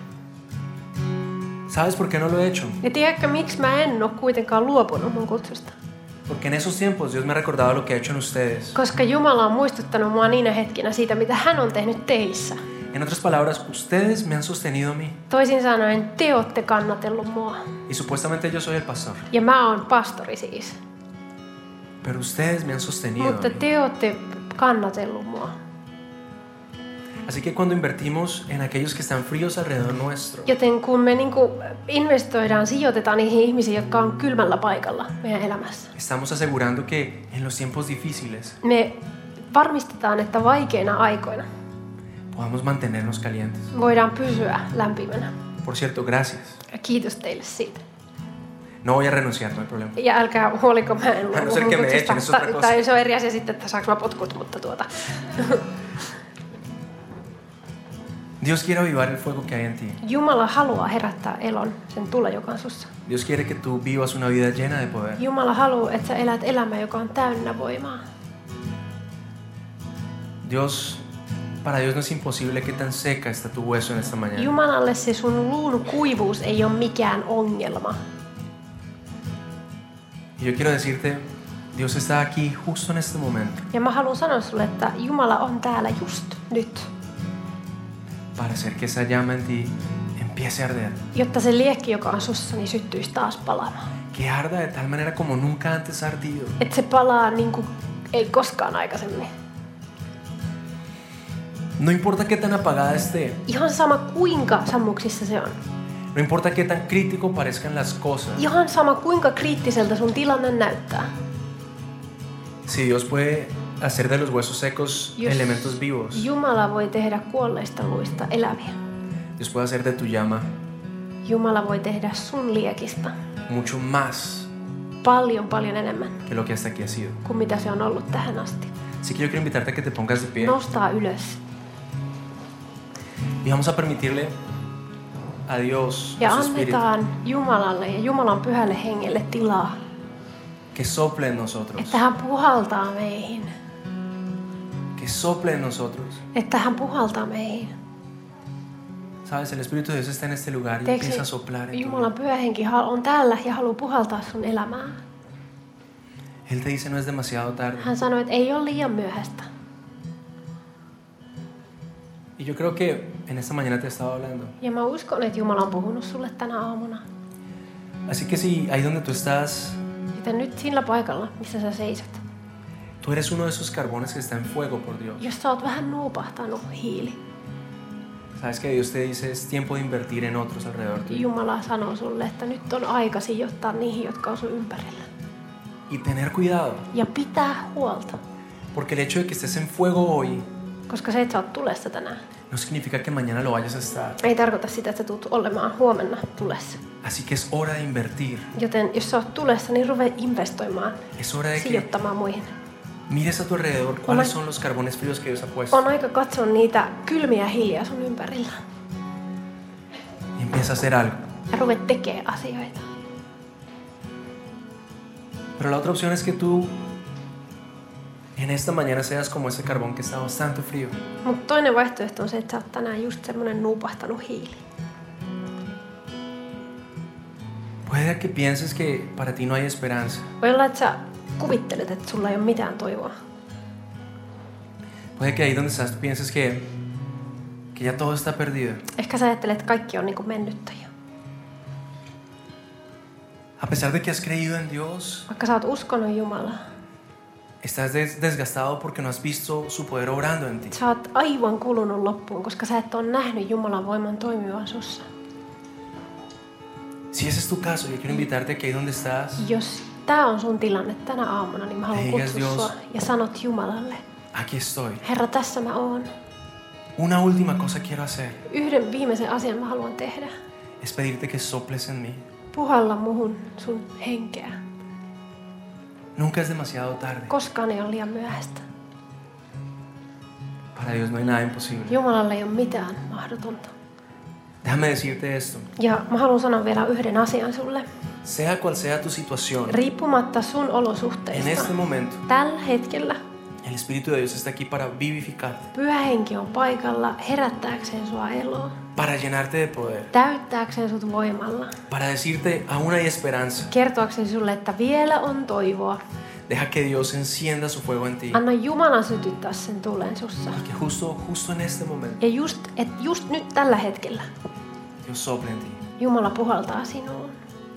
¿Sabes por qué no lo he hecho? Ja tiedätkö, miksi mä en ole kuitenkaan luopunut mun kutsusta? Porque en esos tiempos Dios me ha recordado lo que ha hecho en ustedes. Koska Jumala on muistuttanut mua niinä hetkinä siitä, mitä hän on tehnyt teissä. En otras palabras, ustedes me han sostenido a mí. Toisin sanoen, te olette kannatellut mua. Y supuestamente yo soy el pastor. Ja mä oon pastori siis. Pero ustedes me han sostenido a Mutta mí. te olette kannatellut mua. Así que cuando invertimos en aquellos que están fríos alrededor nuestro, Joten kun me niinku investoidaan, sijoitetaan niihin ihmisiin, jotka on kylmällä paikalla meidän elämässä. estamos asegurando que en los tiempos difíciles Me varmistetaan, että vaikeina aikoina podamos mantenernos calientes. voidaan pysyä lämpimänä. Por cierto, gracias. Ja kiitos teille siitä. No voy a renunciar, no hay problema. Ja älkää huoliko, mä en A no ser que me echen, eso es otra cosa. Tai se on eri asia sitten, että saanko mä potkut, mutta tuota. Dios quiere avivar el fuego que hay en ti. Jumala haluaa herättää elon, sen tulla, joka on sussa. Dios quiere que tú vivas una vida llena de poder. Jumala haluaa, että sä elät elämää, joka on täynnä voimaa. Dios, para Dios no es imposible que tan seca está tu hueso en esta mañana. Jumalalle se sun luun kuivuus ei ole mikään ongelma. Y yo quiero decirte, Dios está aquí justo en este momento Ja mä haluan sanoa sulle, että Jumala on täällä just nyt. para hacer que esa llama en ti empiece a arder. Jotta se liekki, joka on sussa, niin syttyisi taas palaamaan. Que arda de tal manera como nunca antes ha ardido. Että se palaa niin kuin ei koskaan aikaisemmin. No importa qué tan apagada esté, Ihan sama kuinka sammuksissa se on. no importa qué tan crítico parezcan las cosas, Ihan sama kuinka kriittiseltä sun tilanne näyttää. si Dios puede hacer de los huesos secos Jos elementos vivos, Jumala voi tehdä kuolleista luista eläviä. Dios puede hacer de tu llama Jumala voi tehdä sun liekistä mucho más paljon paljon enemmän que lo que hasta aquí ha sido. kuin mitä se on ollut tähän asti. Así que yo quiero invitarte a que te pongas de pie Nostaa ylös y vamos a permitirle a Dios, ja a su Espíritu, annetaan Jumalalle ja Jumalan pyhälle hengelle tilaa, que sople en nosotros, että hän puhaltaa meihin. que sople en nosotros. Että hän puhaltaa meihin. Sabes, el Espíritu de Dios está en este lugar y Tiedätkö, empieza a soplar en tu Jumalan vida. pyhä henki on täällä ja haluaa puhaltaa sun elämään. Él te dice no es demasiado tarde. Hän sanoi, että ei ole liian myöhäistä. Y yo creo que en esta mañana te he estado hablando. Ja mä uskon, että Jumala on puhunut sulle tänä aamuna. Así que si ahí donde tú estás, Joten nyt sillä paikalla, missä sä seisot. tú eres uno de esos carbones que está en fuego por Dios. Jos sä oot vähän nuupahtanut hiili, Sabes que Dios te dice es tiempo de invertir en otros alrededor tuyo. Jumala sanoo sulle, että nyt on aika sijoittaa niihin, jotka on sun ympärillä. Y tener cuidado, Ja pitää huolta. porque el hecho de que estés en fuego hoy Koska se, että sä oot tulessa tänään, no significa que mañana lo vayas a estar. ei tarkoita sitä, että sä tulet olemaan huomenna tulessa. Así que es hora de invertir. Joten jos sä oot tulessa, niin ruvee investoimaan, Es hora de que sijoittamaan muihin. mires a tu alrededor cuáles son los carbones fríos que Dios ha puesto On aika katsoa niitä kylmiä hiiliä sun ympärillä. y empieza a hacer algo. Ja ruvee tekee asioita. Pero la otra opción es que tú en esta mañana seas como ese carbón que está bastante frío. Mutta toinen vaihtoehto on se, että sä oot tänään just semmonen nuupahtanut hiili. Puede que pienses que para ti no hay esperanza. Voi olla, että sä kuvittelet, että sulla ei ole mitään toivoa. Puede que ahí donde estás tú pienses que, que ya todo está perdido. Ehkä sä ajattelet, että kaikki on niin kuin mennyttä jo. A pesar de que has creído en Dios, Vaikka sä oot uskonut Jumalaa, estás des- desgastado porque no has visto su poder obrando en ti. sä oot aivan kulunut loppuun, koska sä et ole nähnyt Jumalan voiman toimivan sussa. Si ese es tu caso, yo quiero invitarte a que ahí donde estás, Jos tää on sun tilanne tänä aamuna, niin mä haluan Eikä kutsua Dios. sua ja sanot Jumalalle, aquí estoy. Herra, tässä mä oon. Una última cosa quiero hacer, Yhden viimeisen asian mä haluan tehdä. es pedirte que soples en mí. Puhalla muhun sun henkeä. Nunca es demasiado tarde. Koskaan ei ole liian myöhäistä. Para Dios no hay nada imposible. Jumalalle ei ole mitään mahdotonta. Déjame decirte esto. Ja mä haluan sanoa vielä yhden asian sulle. Sea cual sea tu situación, Riippumatta sun en olosuhteista, este momento, tällä hetkellä el Espíritu de Dios está aquí para vivificarte, Pyhä Henki on paikalla herättääkseen sua eloon, para llenarte de poder, täyttääkseen sut voimalla, para decirte aún hay esperanza. kertoakseen sulle, että vielä on toivoa. Deja que Dios encienda su fuego en ti. Anna Jumalan sytyttää sen tulen sussa. Y que justo, justo en este momento, Ja just, et just nyt tällä hetkellä Dios sople en ti. Jumala puhaltaa sinuun.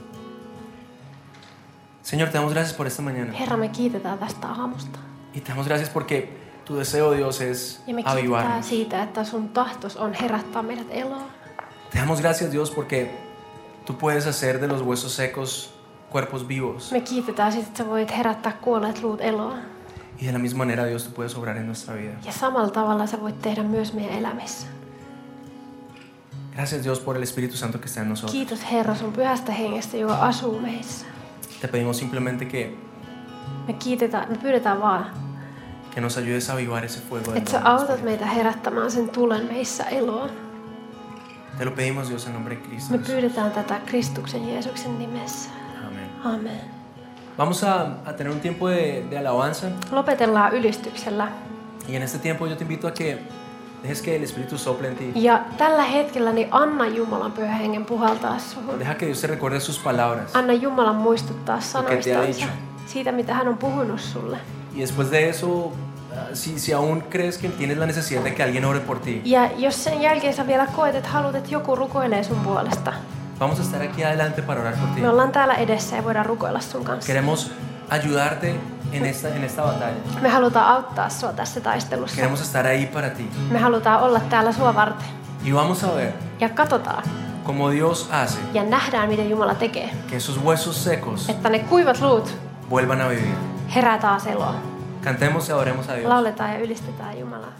Señor, te damos gracias por esta mañana. Herra, me kiitetään tästä aamusta. Y te damos gracias porque tu deseo, Dios, es Ja me kiitetään avivarnos. siitä, että sun tahtos on herättää meidät eloon. Te damos gracias, Dios, porque tú puedes hacer de los huesos secos cuerpos vivos. Me kiitetään siitä, että sä voit herättää kuolleet luut eloon. Y de la misma manera, Dios, tú puedes obrar en nuestra vida. Ja samalla tavalla sä voit tehdä myös meidän elämissä. Gracias, Dios, por el Espíritu Santo que está en nosotros. Kiitos Herra sun pyhästä hengestä, joka asuu meissä. Te pedimos simplemente que, Me kiitetään, me pyydetään vaan, que nos ayudes a avivar ese fuego. että sä autat meitä herättämään sen tulen meissä eloon. Te lo pedimos, Dios, en nombre de Cristo. Me pyydetään tätä Kristuksen Jeesuksen nimessä. Amén. Amen. Vamos a, a tener un tiempo de, de alabanza. Lopetellaan ylistyksellä. Y en este tiempo yo te invito a que dejes que el Espíritu sople en ti. Ja tällä hetkellä niin anna Jumalan pyhän hengen puhaltaa suhun. Deja que Dios te recuerde sus palabras. Anna Jumalan muistuttaa Lo que te ha sanoistansa. dicho. Siitä, mitä hän on puhunut sulle. Y después de eso, ah, si, si aún crees que tienes la necesidad de que alguien ore por ti, Ja jos sen jälkeen sä vielä koet, että haluat, että joku rukoilee sun puolesta. vamos a estar aquí adelante para orar por ti. Me ollaan täällä edessä ja voidaan rukoilla sun kanssa. Queremos ayudarte en esta, en esta batalla. Me halutaan auttaa sua tässä taistelussa. Queremos estar ahí para ti. Me halutaan olla täällä sua varten. Y vamos a ver Ja katsotaan cómo Dios hace ja nähdään, miten Jumala tekee. que esos huesos secos Että ne kuivat luut vuelvan a vivir. herää taas eloon. Cantemos y adoremos a Dios. Lauletaan ja ylistetään Jumalaa.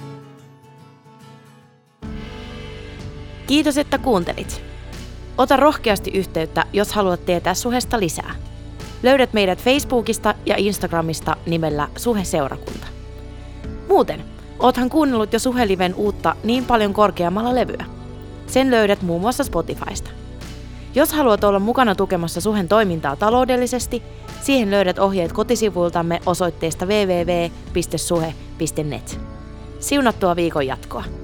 Kiitos, että kuuntelit. Ota rohkeasti yhteyttä, jos haluat tietää Suhesta lisää. Löydät meidät Facebookista ja Instagramista nimellä Suhe-seurakunta. Muuten, oothan kuunnellut jo Suhe-liven uutta Niin paljon korkeammalla levyä. Sen löydät muun muassa Spotifysta. Jos haluat olla mukana tukemassa Suhen toimintaa taloudellisesti, siihen löydät ohjeet kotisivuiltamme osoitteesta double-u double-u double-u piste suhe piste net. Siunattua viikon jatkoa!